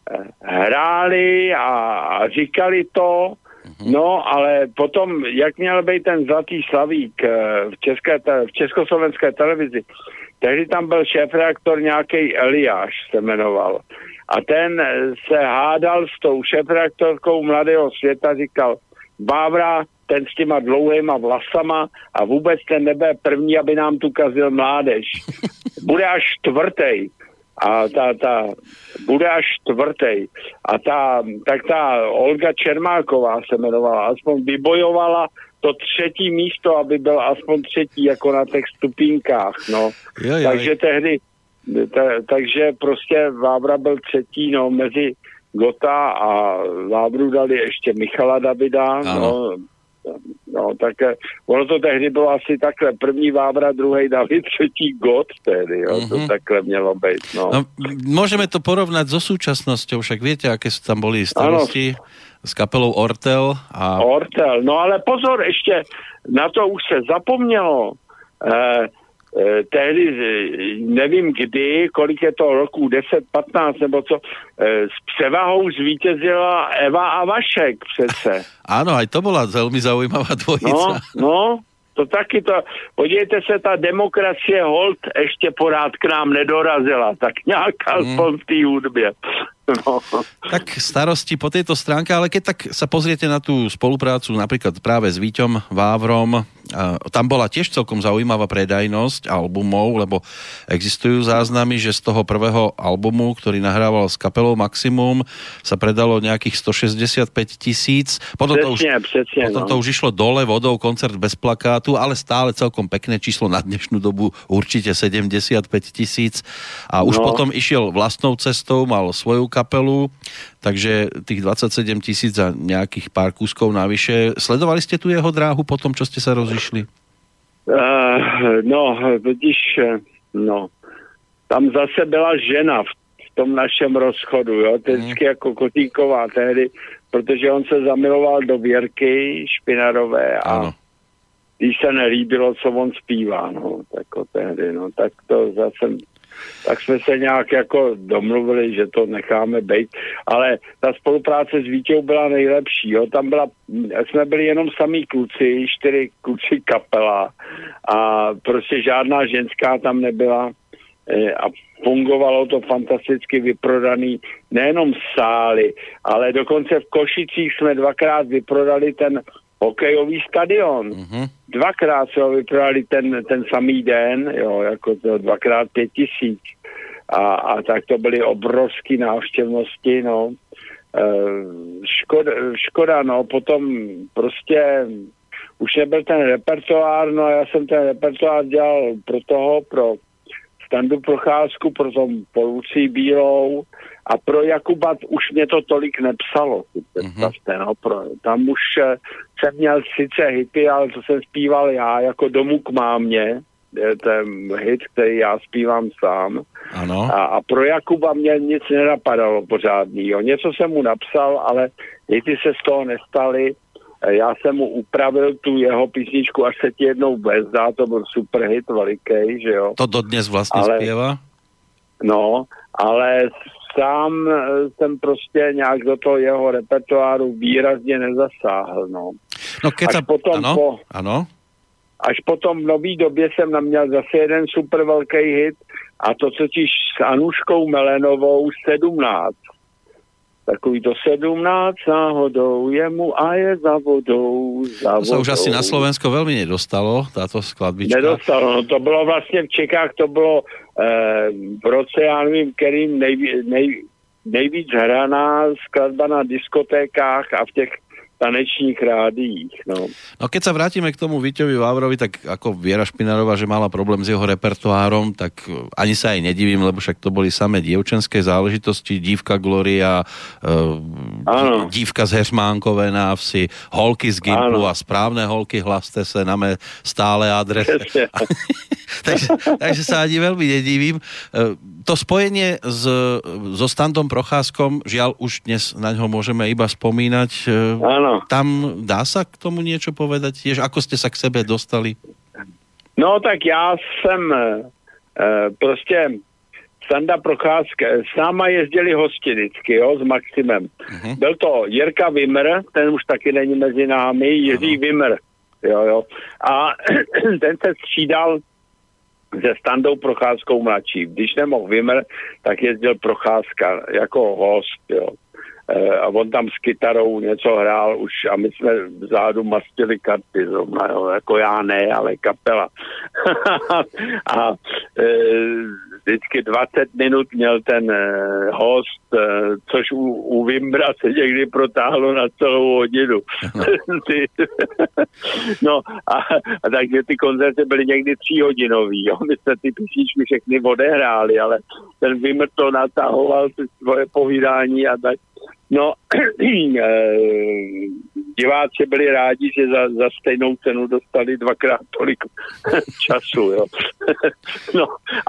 hráli a říkali to, no, ale potom, jak měl být ten zlatý slavík v československé televizi, tehdy tam byl šéfredaktor nějaký Eliáš se jmenoval. A ten se hádal s tou šéfredaktorkou Mladého světa, říkal, Vávra, ten s těma dlouhýma vlasama a vůbec ten nebe první, aby nám tu kazil mládež. Bude až čtvrtej. A bude až čtvrtej. A ta Olga Čermáková se jmenovala, aspoň vybojovala to třetí místo, aby byl aspoň třetí, jako na těch stupínkách, no. Takže tehdy, takže prostě Vávra byl třetí, no, mezi Gota a Vávru dali ještě Michala Davida, no, tak ono to tehdy bylo asi takhle, první Vávra, druhý David, třetí Got tehdy, jo, to takhle mělo být, no. Môžeme to porovnať so súčasnosťou, však viete, aké sú tam boli starosti s kapelou Ortel. Ortel, no ale pozor, ještě na to už se zapomnělo, tehdy, nevím kdy, kolik je to roku, 10, 15 nebo co, s převahou zvítězila Eva a Vašek přece. Áno, aj to bola veľmi zaujímavá dvojica. No, to taky to, podívejte se, ta demokracie hold ještě pořád k nám nedorazila, tak nějaká aspoň v té hudbě. No. Tak starosti po tejto stránke, ale keď tak sa pozriete na tú spoluprácu napríklad práve s Víťom Vávrom, tam bola tiež celkom zaujímavá predajnosť albumov, lebo existujú záznamy, že z toho prvého albumu, ktorý nahrával s kapelou Maximum, sa predalo nejakých 165 000. Potom to už išlo dole vodou, koncert bez plakátu, ale stále celkom pekné číslo na dnešnú dobu, určite 75 000. A už potom išiel vlastnou cestou, mal svoju kapelu, takže tých 27 000 a nejakých pár kúskov navyše. Sledovali ste tu jeho dráhu po tom, čo ste sa rozišli? Tam zase byla žena v tom našem rozchodu, jo, to je vždycky jako Kotíková tehdy, protože on se zamiloval do Věrky Špinarové a když se nelíbilo, co on zpívá, no, tako tehdy, no, tak to zase tak jsme se nějak jako domluvili, že to necháme bejt, ale ta spolupráce s Vítěou byla nejlepší, jo, tam jsme byli jenom samý kluci, 4 kluci kapela a prostě žádná ženská tam nebyla a fungovalo to fantasticky, vyprodaný nejenom sály, ale dokonce v Košicích jsme 2krát vyprodali ten hokejový stadion. Dvakrát se ho vyprodali ten samý den, jo, jako to 2x5 000. A tak to byly obrovské návštěvnosti, no. škoda, no, potom prostě už nebyl ten repertoár, no a já jsem ten repertoár dělal pro Standu Procházku, pro tom Lucí Bílou a pro Jakuba už mě to tolik nepsalo, si představte, no, tam už jsem měl sice hity, ale to jsem zpíval já jako Domů k mámě, ten hit, který já zpívám sám. Ano. A pro Jakuba mě nic nenapadalo pořádnýho. Něco jsem mu napsal, ale hity se z toho nestaly. Já jsem mu upravil tu jeho písničku Až se ti jednou bezdá, to byl super hit veliký, že jo. To dodnes vlastně zpěvá? No, ale sám jsem prostě nějak do toho jeho repertoáru výrazně nezasáhl, no. No keď sa... Ano. Až potom v nový době jsem měl zase jeden super velký hit a to totiž s Anuškou Melenovou 17. Takový to 17 náhodou jemu a je za vodou. To sa už asi na Slovensko veľmi nedostalo, táto skladbička. Nedostalo, no to bylo vlastně v Čechách, to bylo v roce, já nevím, kterým nejvíc hraná skladba na diskotékách a v těch tanečních rádiích, no. No keď sa vrátime k tomu Víťovi Vávrovi, tak ako Viera Špinarová, že mala problém s jeho repertoárom, tak ani sa aj nedivím, lebo však to boli samé dievčenské záležitosti, Dívka Gloria, Dívka z Heřmánkové na vsi, Holky z Gimplu a Správne holky, hlaste se na mé stále adrese. takže sa ani veľmi nedivím. To spojenie so Standom Procházkom, žiaľ už dnes na ňo môžeme iba spomínať. Áno. Tam dá sa k tomu niečo povedať? Tiež ako ste sa k sebe dostali? No tak já jsem prostě Standa Procházka, s náma jezdili hosti vždycky, jo, s Maximem. Byl to Jirka Vimr, ten už taky není mezi námi, Jiří Vimr, jo. A ten se střídal se Standou Procházkou mladší. Když nemohl Vimr, tak jezdil Procházka jako host, jo. A on tam s kytarou něco hrál už a my jsme vzadu mastili karty zrovna, jo. Jako já ne, ale kapela. A vždycky 20 minut měl ten host, což u Vimbra se někdy protáhlo na celou hodinu. No a takže ty koncerty byly někdy 3hodinový, jo. My jsme ty písničky všechny odehráli, ale ten Vimbr to natahoval si svoje povídání a tak. No, diváci byli rádi, že za stejnou cenu dostali 2x tolik času, jo. No,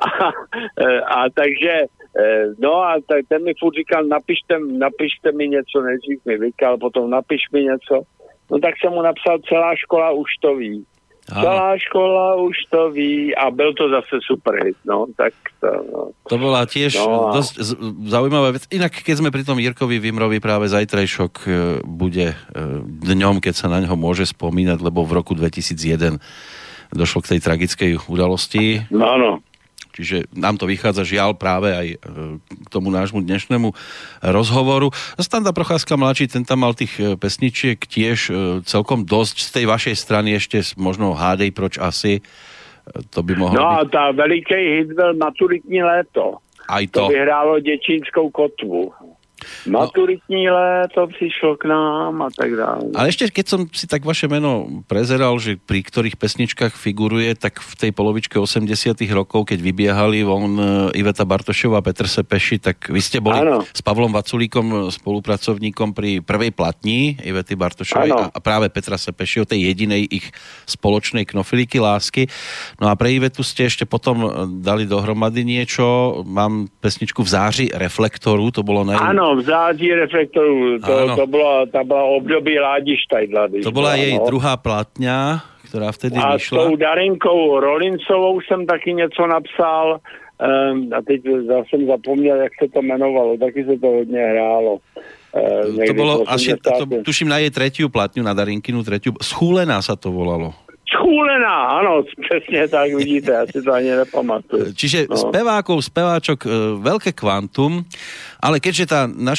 a takže, no a ten mi furt říkal, napište mi něco, nejdřív mi vykal, potom napiš mi něco. No tak jsem mu napsal Celá škola už to ví. Celá škola už to ví a byl to zase super hit, no, tak to, no. To bola tiež dosť zaujímavá vec. Inak, keď sme pri tom Jirkovi Vimrovi, práve zajtrajšok bude dňom, keď sa na ňo môže spomínať, lebo v roku 2001 došlo k tej tragickej udalosti. No, áno. Čiže nám to vychádza žiaľ práve aj k tomu nášmu dnešnému rozhovoru. Standa Procházka mladší, ten tam mal tých pesničiek tiež celkom dosť. Z tej vašej strany ešte možno Hádej proč asi. To by mohlo a byť. tá veliký hit byl Maturitní léto. Aj to. To vyhrálo Děčínskou kotvu. Maturitní léto přišlo k nám a tak dále. Ale ešte, keď som si tak vaše meno prezeral, že pri ktorých pesničkách figuruje, tak v tej polovičke 80 rokov, keď vybiehali von Iveta Bartošová a Petr Sepeši, tak vy ste boli s Pavlom Vaculíkom spolupracovníkom pri prvej platni Ivety Bartošovej a práve Petra Sepeši, o tej jedinej ich spoločnej Knoflíky lásky. No a pre Ivetu ste ešte potom dali dohromady niečo. Mám pesničku V záři reflektoru, to bolo v září reflektoru, to byla období Ládi Štajdla. To bola jej druhá platňa, ktorá vtedy vyšla. A s tou Darinkou Rolincovou jsem taky něco napsal a teď jsem zapomněl, jak se to jmenovalo, taky se to hodně hrálo. To bolo asi, tuším na jej tretiu platňu, na Darinkinu tretiu, Schúlená sa to volalo. Schúlená, áno, presne tak, vidíte, ja si to ani nepamatujem. Čiže speváčok, veľké kvantum, ale keďže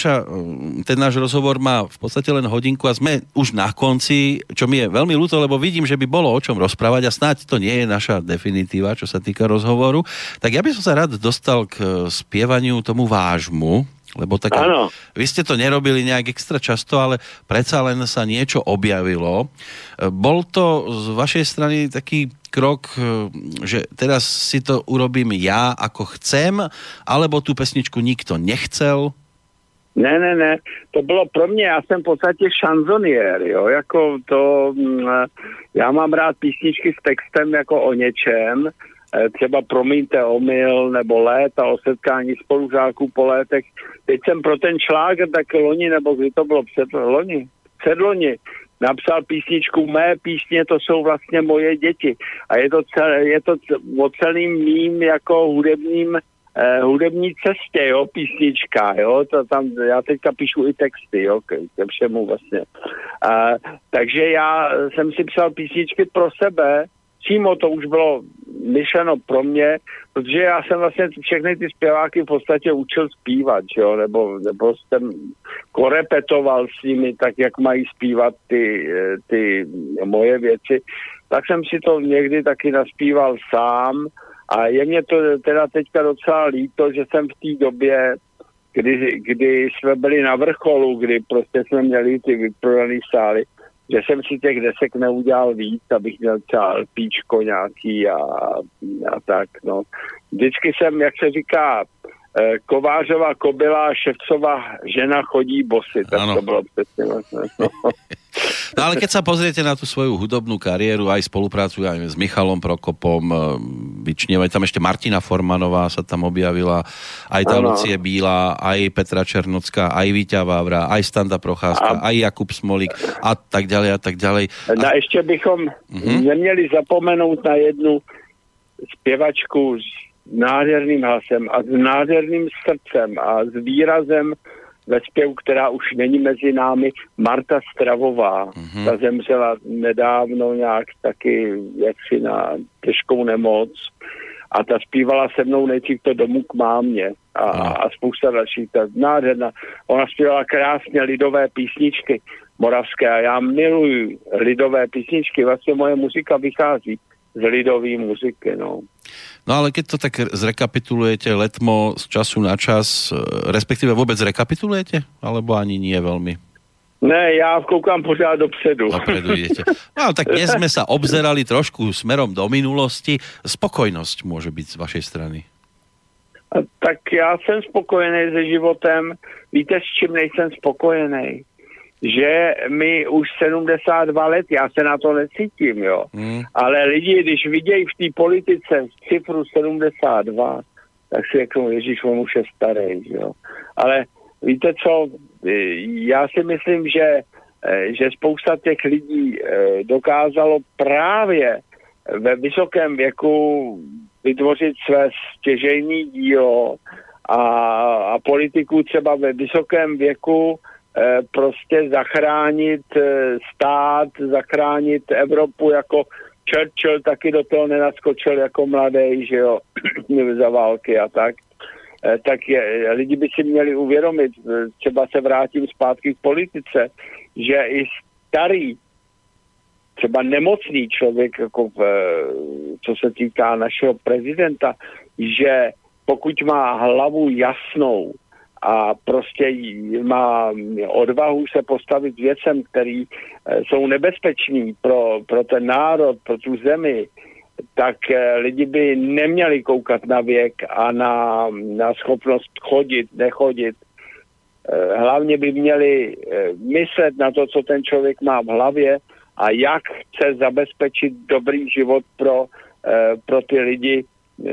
ten náš rozhovor má v podstate len hodinku a sme už na konci, čo mi je veľmi ľúto, lebo vidím, že by bolo o čom rozprávať a snáď to nie je naša definitíva, čo sa týka rozhovoru, tak ja by som sa rád dostal k spievaniu tomu vášmu. Lebo tak, vy ste to nerobili nejak extra často, ale predsa len sa niečo objavilo. Bol to z vašej strany taký krok, že teraz si to urobím ja, ako chcem, alebo tú pesničku nikto nechcel? Ne. To bylo pro mě, já jsem v podstatě šanzoniér, jo, jako to, já mám rád písničky s textem jako o něčem, třeba Promiňte omyl, nebo Léta o setkání spolužáků po létech. Teď jsem pro ten šláger tak loni, nebo kdy to bylo předloni, napsal písničku Mé písně, to jsou vlastně moje děti. A je to o celým mým jako hudební cestě, jo, písnička, jo, to tam, já teďka píšu i texty, jo, ke všemu vlastně. Takže já jsem si psal písničky pro sebe, přímo to už bylo myšleno pro mě, protože já jsem vlastně všechny ty zpěváky v podstatě učil zpívat, jo, nebo jsem korepetoval s nimi tak, jak mají zpívat ty moje věci, tak jsem si to někdy taky naspíval sám a je mě to teda teďka docela líto, že jsem v té době, kdy jsme byli na vrcholu, kdy prostě jsme měli ty vyprodané sály, že jsem si těch desek neudělal víc, abych měl třeba LPčko nějaký a tak, no. Vždycky jsem, jak se říká, Kovářova kobyla, Ševcova žena chodí bosy, tak ano. To bylo přesně vlastně. No ale keď sa pozriete na tú svoju hudobnú kariéru, aj spoluprácu aj s Michalom Prokopom, vyčnievaj tam ešte Martina Formanová sa tam objavila, aj tá Lucie Bílá, aj Petra Černocká, aj Víťa Vávra, aj Standa Procházka, aj Jakub Smolík a tak ďalej a tak ďalej. A ešte bychom neměli zapomenout na jednu zpěvačku s nádherným hlasem a s nádherným srdcem a s výrazem ve zpěvu, která už není mezi námi, Marta Stravová. Ta zemřela nedávno nějak taky jaksi na těžkou nemoc a ta zpívala se mnou nejdřív to Domů k mámě a spousta dalších. Ta nádherná. Ona zpívala krásně lidové písničky moravské a já miluji lidové písničky. Vlastně moje muzika vychází z lidové muziky, no. No ale keď to tak zrekapitulujete letmo z času na čas, respektíve vôbec zrekapitulujete? Alebo ani nie veľmi? Ne, ja koukám pořád dopředu. Dopredu idete. No tak dnes sme sa obzerali trošku smerom do minulosti. Spokojnosť môže byť z vašej strany. Tak já jsem spokojený se životem. Víte, s čím nejsem spokojený? Že mi už 72 let, já se na to necítím, jo. Ale lidi, když vidějí v té politice cifru 72, tak si řeknou, Ježíš, on už je starý, jo. Ale víte co, já si myslím, že spousta těch lidí dokázalo právě ve vysokém věku vytvořit své stěžejní dílo a politiku třeba ve vysokém věku prostě zachránit stát, zachránit Evropu, jako Churchill taky do toho nenaskočil jako mladý, že jo, za války a tak. Tak lidi by si měli uvědomit, třeba se vrátím zpátky k politice, že i starý, třeba nemocný člověk, jako co se týká našeho prezidenta, že pokud má hlavu jasnou, a prostě má odvahu se postavit věcem, který jsou nebezpečný pro ten národ, pro tu zemi, tak lidi by neměli koukat na věk a na schopnost chodit, nechodit. Hlavně by měli myslet na to, co ten člověk má v hlavě a jak chce zabezpečit dobrý život pro ty lidi,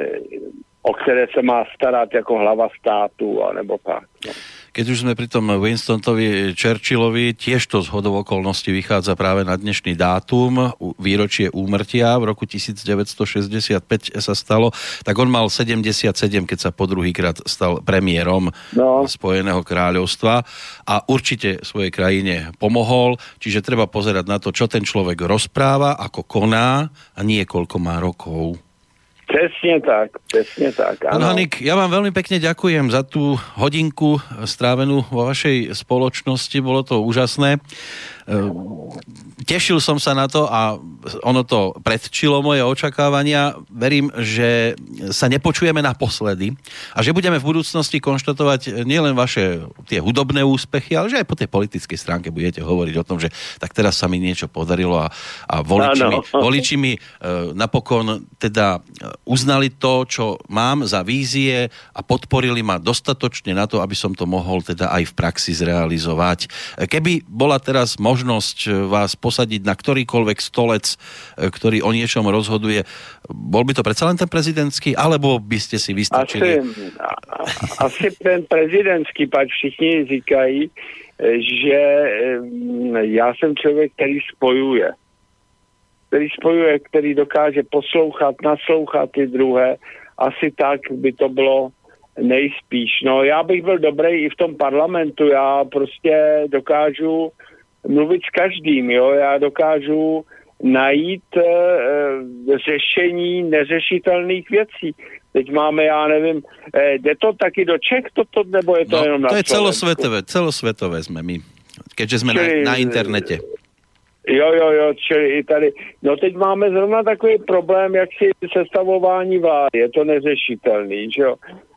o ktoré sa má starať ako hlava státu, alebo tak. No. Keď už sme pri tom Winstonovi Churchillovi, tiež to z hodou okolností vychádza práve na dnešný dátum, výročie úmrtia v roku 1965 sa stalo, tak on mal 77, keď sa po druhýkrát stal premiérom Spojeného kráľovstva a určite svojej krajine pomohol, čiže treba pozerať na to, čo ten človek rozpráva, ako koná a nie koľko má rokov. Presne tak. Pán Haník, ja vám veľmi pekne ďakujem za tú hodinku strávenú vo vašej spoločnosti, bolo to úžasné. Tešil som sa na to a ono to predčilo moje očakávania. Verím, že sa nepočujeme naposledy a že budeme v budúcnosti konštatovať nielen vaše tie hudobné úspechy, ale že aj po tej politickej stránke budete hovoriť o tom, že tak teraz sa mi niečo podarilo a voliči mi napokon teda uznali to, čo mám za vízie a podporili ma dostatočne na to, aby som to mohol teda aj v praxi zrealizovať. Keby bola teraz možnosť vás posadiť na ktorýkoľvek stolec, ktorý o niečom rozhoduje, bol by to predsa len ten prezidentský, alebo by ste si vystačili? Asi ten prezidentský, pač všichni říkají, že já jsem člověk, který spojuje, který dokáže poslouchat, naslouchat ty druhé. Asi tak by to bylo nejspíš. No, já bych byl dobrý i v tom parlamentu. Já prostě dokážu mluvit s každým, jo. Já dokážu najít řešení neřešitelných věcí. Teď máme, já nevím, jde to taky do Čech, toto, nebo je to jenom na Slovensku? To je celosvetové sme my, keďže sme na internete. Jo, čili i tady. No teď máme zrovna takový problém, jak si sestavování vlády, je to neřešitelný, že jo.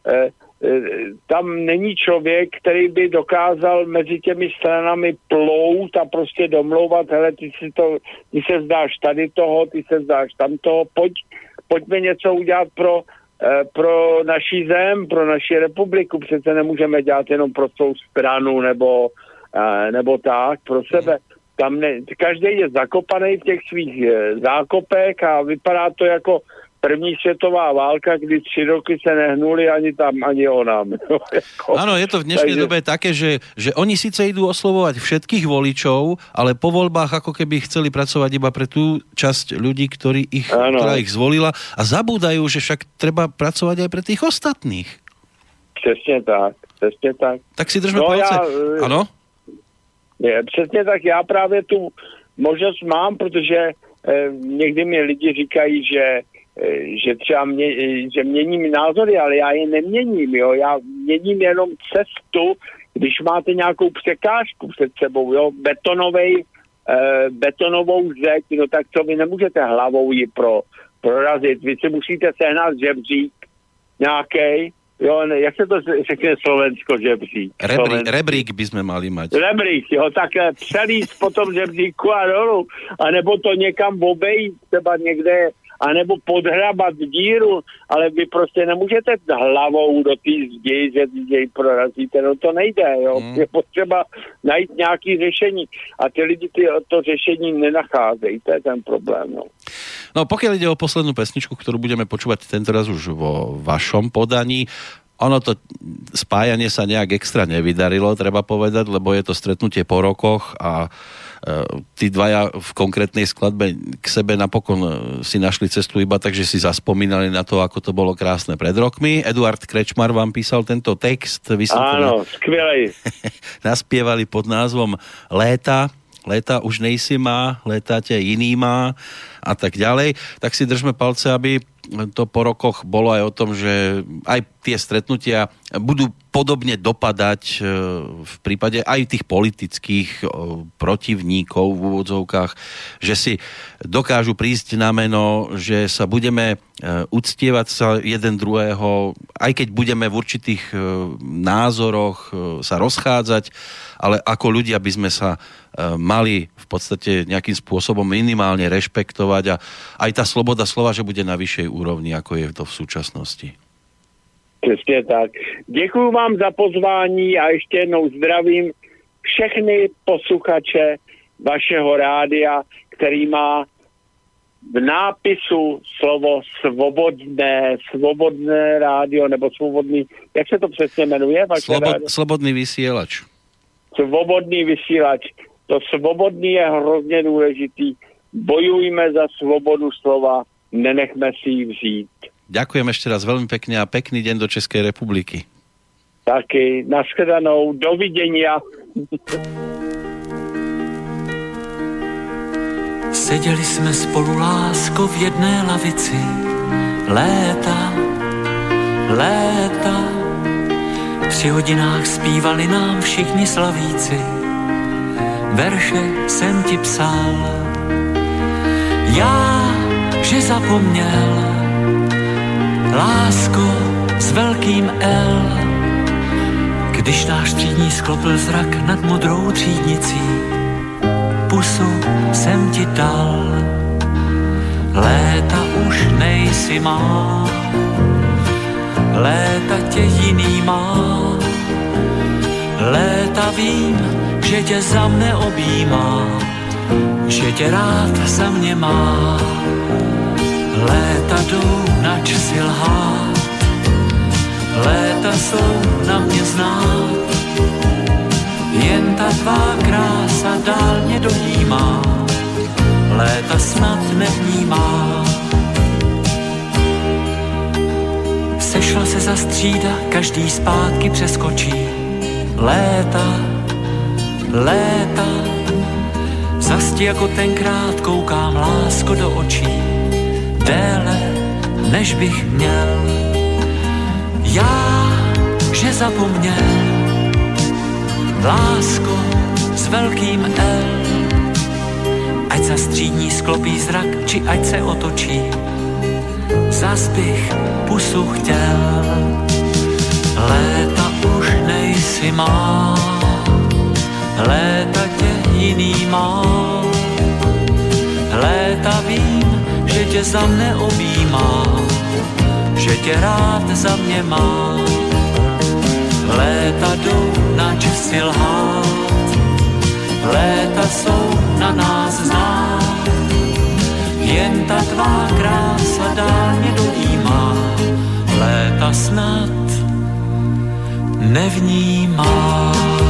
Tam není člověk, který by dokázal mezi těmi stranami plout a prostě domlouvat, hele, ty se zdáš tady toho, ty se zdáš tamtoho, pojďme něco udělat pro naší zem, pro naši republiku, přece nemůžeme dělat jenom pro svou stranu nebo tak, pro sebe. Tam každý je zakopaný v těch svých zákopech a vypadá to jako první světová válka, kdy 3 roky se nehnuli ani tam, ani onám. Áno, je to v dnešnej dobe také, že oni síce idú oslovovať všetkých voličov, ale po voľbách ako keby chceli pracovať iba pre tú časť ľudí, ktorá ich zvolila a zabúdajú, že však treba pracovať aj pre tých ostatných. Přesně tak. Tak si držme palce. Áno? Přesně tak, já právě tu možnost mám, protože někdy mi lidi říkají, že třeba že měním názory, ale já je neměním, jo, já měním jenom cestu, když máte nějakou překážku před sebou, jo, betonovou zeď, no tak co vy nemůžete hlavou ji prorazit, vy si musíte sehnat žebřík nějakej. Jo, jak se to řekne Slovensko, žebřík? Rebrík by sme mali mať. Rebrík, jo, tak přelíst po tom žebříku a dolu, anebo to někam obejít, třeba někde, anebo podhrabat díru, ale vy prostě nemůžete hlavou do té zdi, že jej prorazíte, no to nejde, jo. Je potřeba najít nějaké řešení a ty lidi to řešení nenacházejí, to je ten problém, no. No pokiaľ ide o poslednú pesničku, ktorú budeme počúvať tentoraz už vo vašom podaní, ono to spájanie sa nejak extra nevydarilo, treba povedať, lebo je to stretnutie po rokoch a tí dvaja v konkrétnej skladbe k sebe napokon si našli cestu iba tak, že si zaspomínali na to, ako to bolo krásne pred rokmi. Eduard Krečmar vám písal tento text. Áno, skvelej. Naspievali pod názvom Léta už nejsi má, léta ťa iný má a tak ďalej. Tak si držme palce, aby to po rokoch bolo aj o tom, že aj tie stretnutia budú podobne dopadať v prípade aj tých politických protivníkov v úvodzovkách, že si dokážu prísť na meno, že sa budeme uctievať sa jeden druhého, aj keď budeme v určitých názoroch sa rozchádzať, ale ako ľudia by sme sa mali v podstate nejakým spôsobom minimálne rešpektovať a aj tá sloboda slova, že bude na vyššej úrovni, ako je to v súčasnosti. Přesně tak. Děkuju vám za pozvání a ještě jednou zdravím všechny posluchače vašeho rádia, který má v nápisu slovo svobodné rádio, nebo svobodný, jak se to přesně jmenuje? Slobodný vysielač. Svobodný vysílač. To svobodný je hrozně důležitý. Bojujme za svobodu slova, nenechme si ji vzít. Ďakujem ešte raz veľmi pekne a pekný deň do Českej republiky. Taky, nashledanou, dovidenia. Seděli jsme spolu, lásko, v jedné lavici. léta, léta. 3 hodinách zpívali nám všichni slavíci, verše jsem ti psal. Já, že zapomněl, lásko s velkým L, když náš třídní sklopil zrak nad modrou třídnicí, pusu jsem ti dal. Léta už nejsi má, léta tě jiný má, léta vím, že tě za mne objímá, že tě rád za mě má. Léta jdou, nač si lhát, léta jsou na mě znát, jen ta tvá krása dál mě dojímá, léta snad nevnímá. Sešla se za střída, každý zpátky přeskočí, léta, léta, zas ti jako tenkrát koukám, lásko, do očí, déle, než bych měl. Já, že zapomněl, lásko s velkým L, ať za střídní sklopí zrak, či ať se otočí, zas bych pusu chtěl. Léta už nejsi má, léta tě jiný má, léta vím, že tě za mne objímá, že tě rád za mě má. Léta jdou, nač si lhát, léta jsou na nás znát, jen ta tvá krása dál mě dojímá, léta snad nevnímá.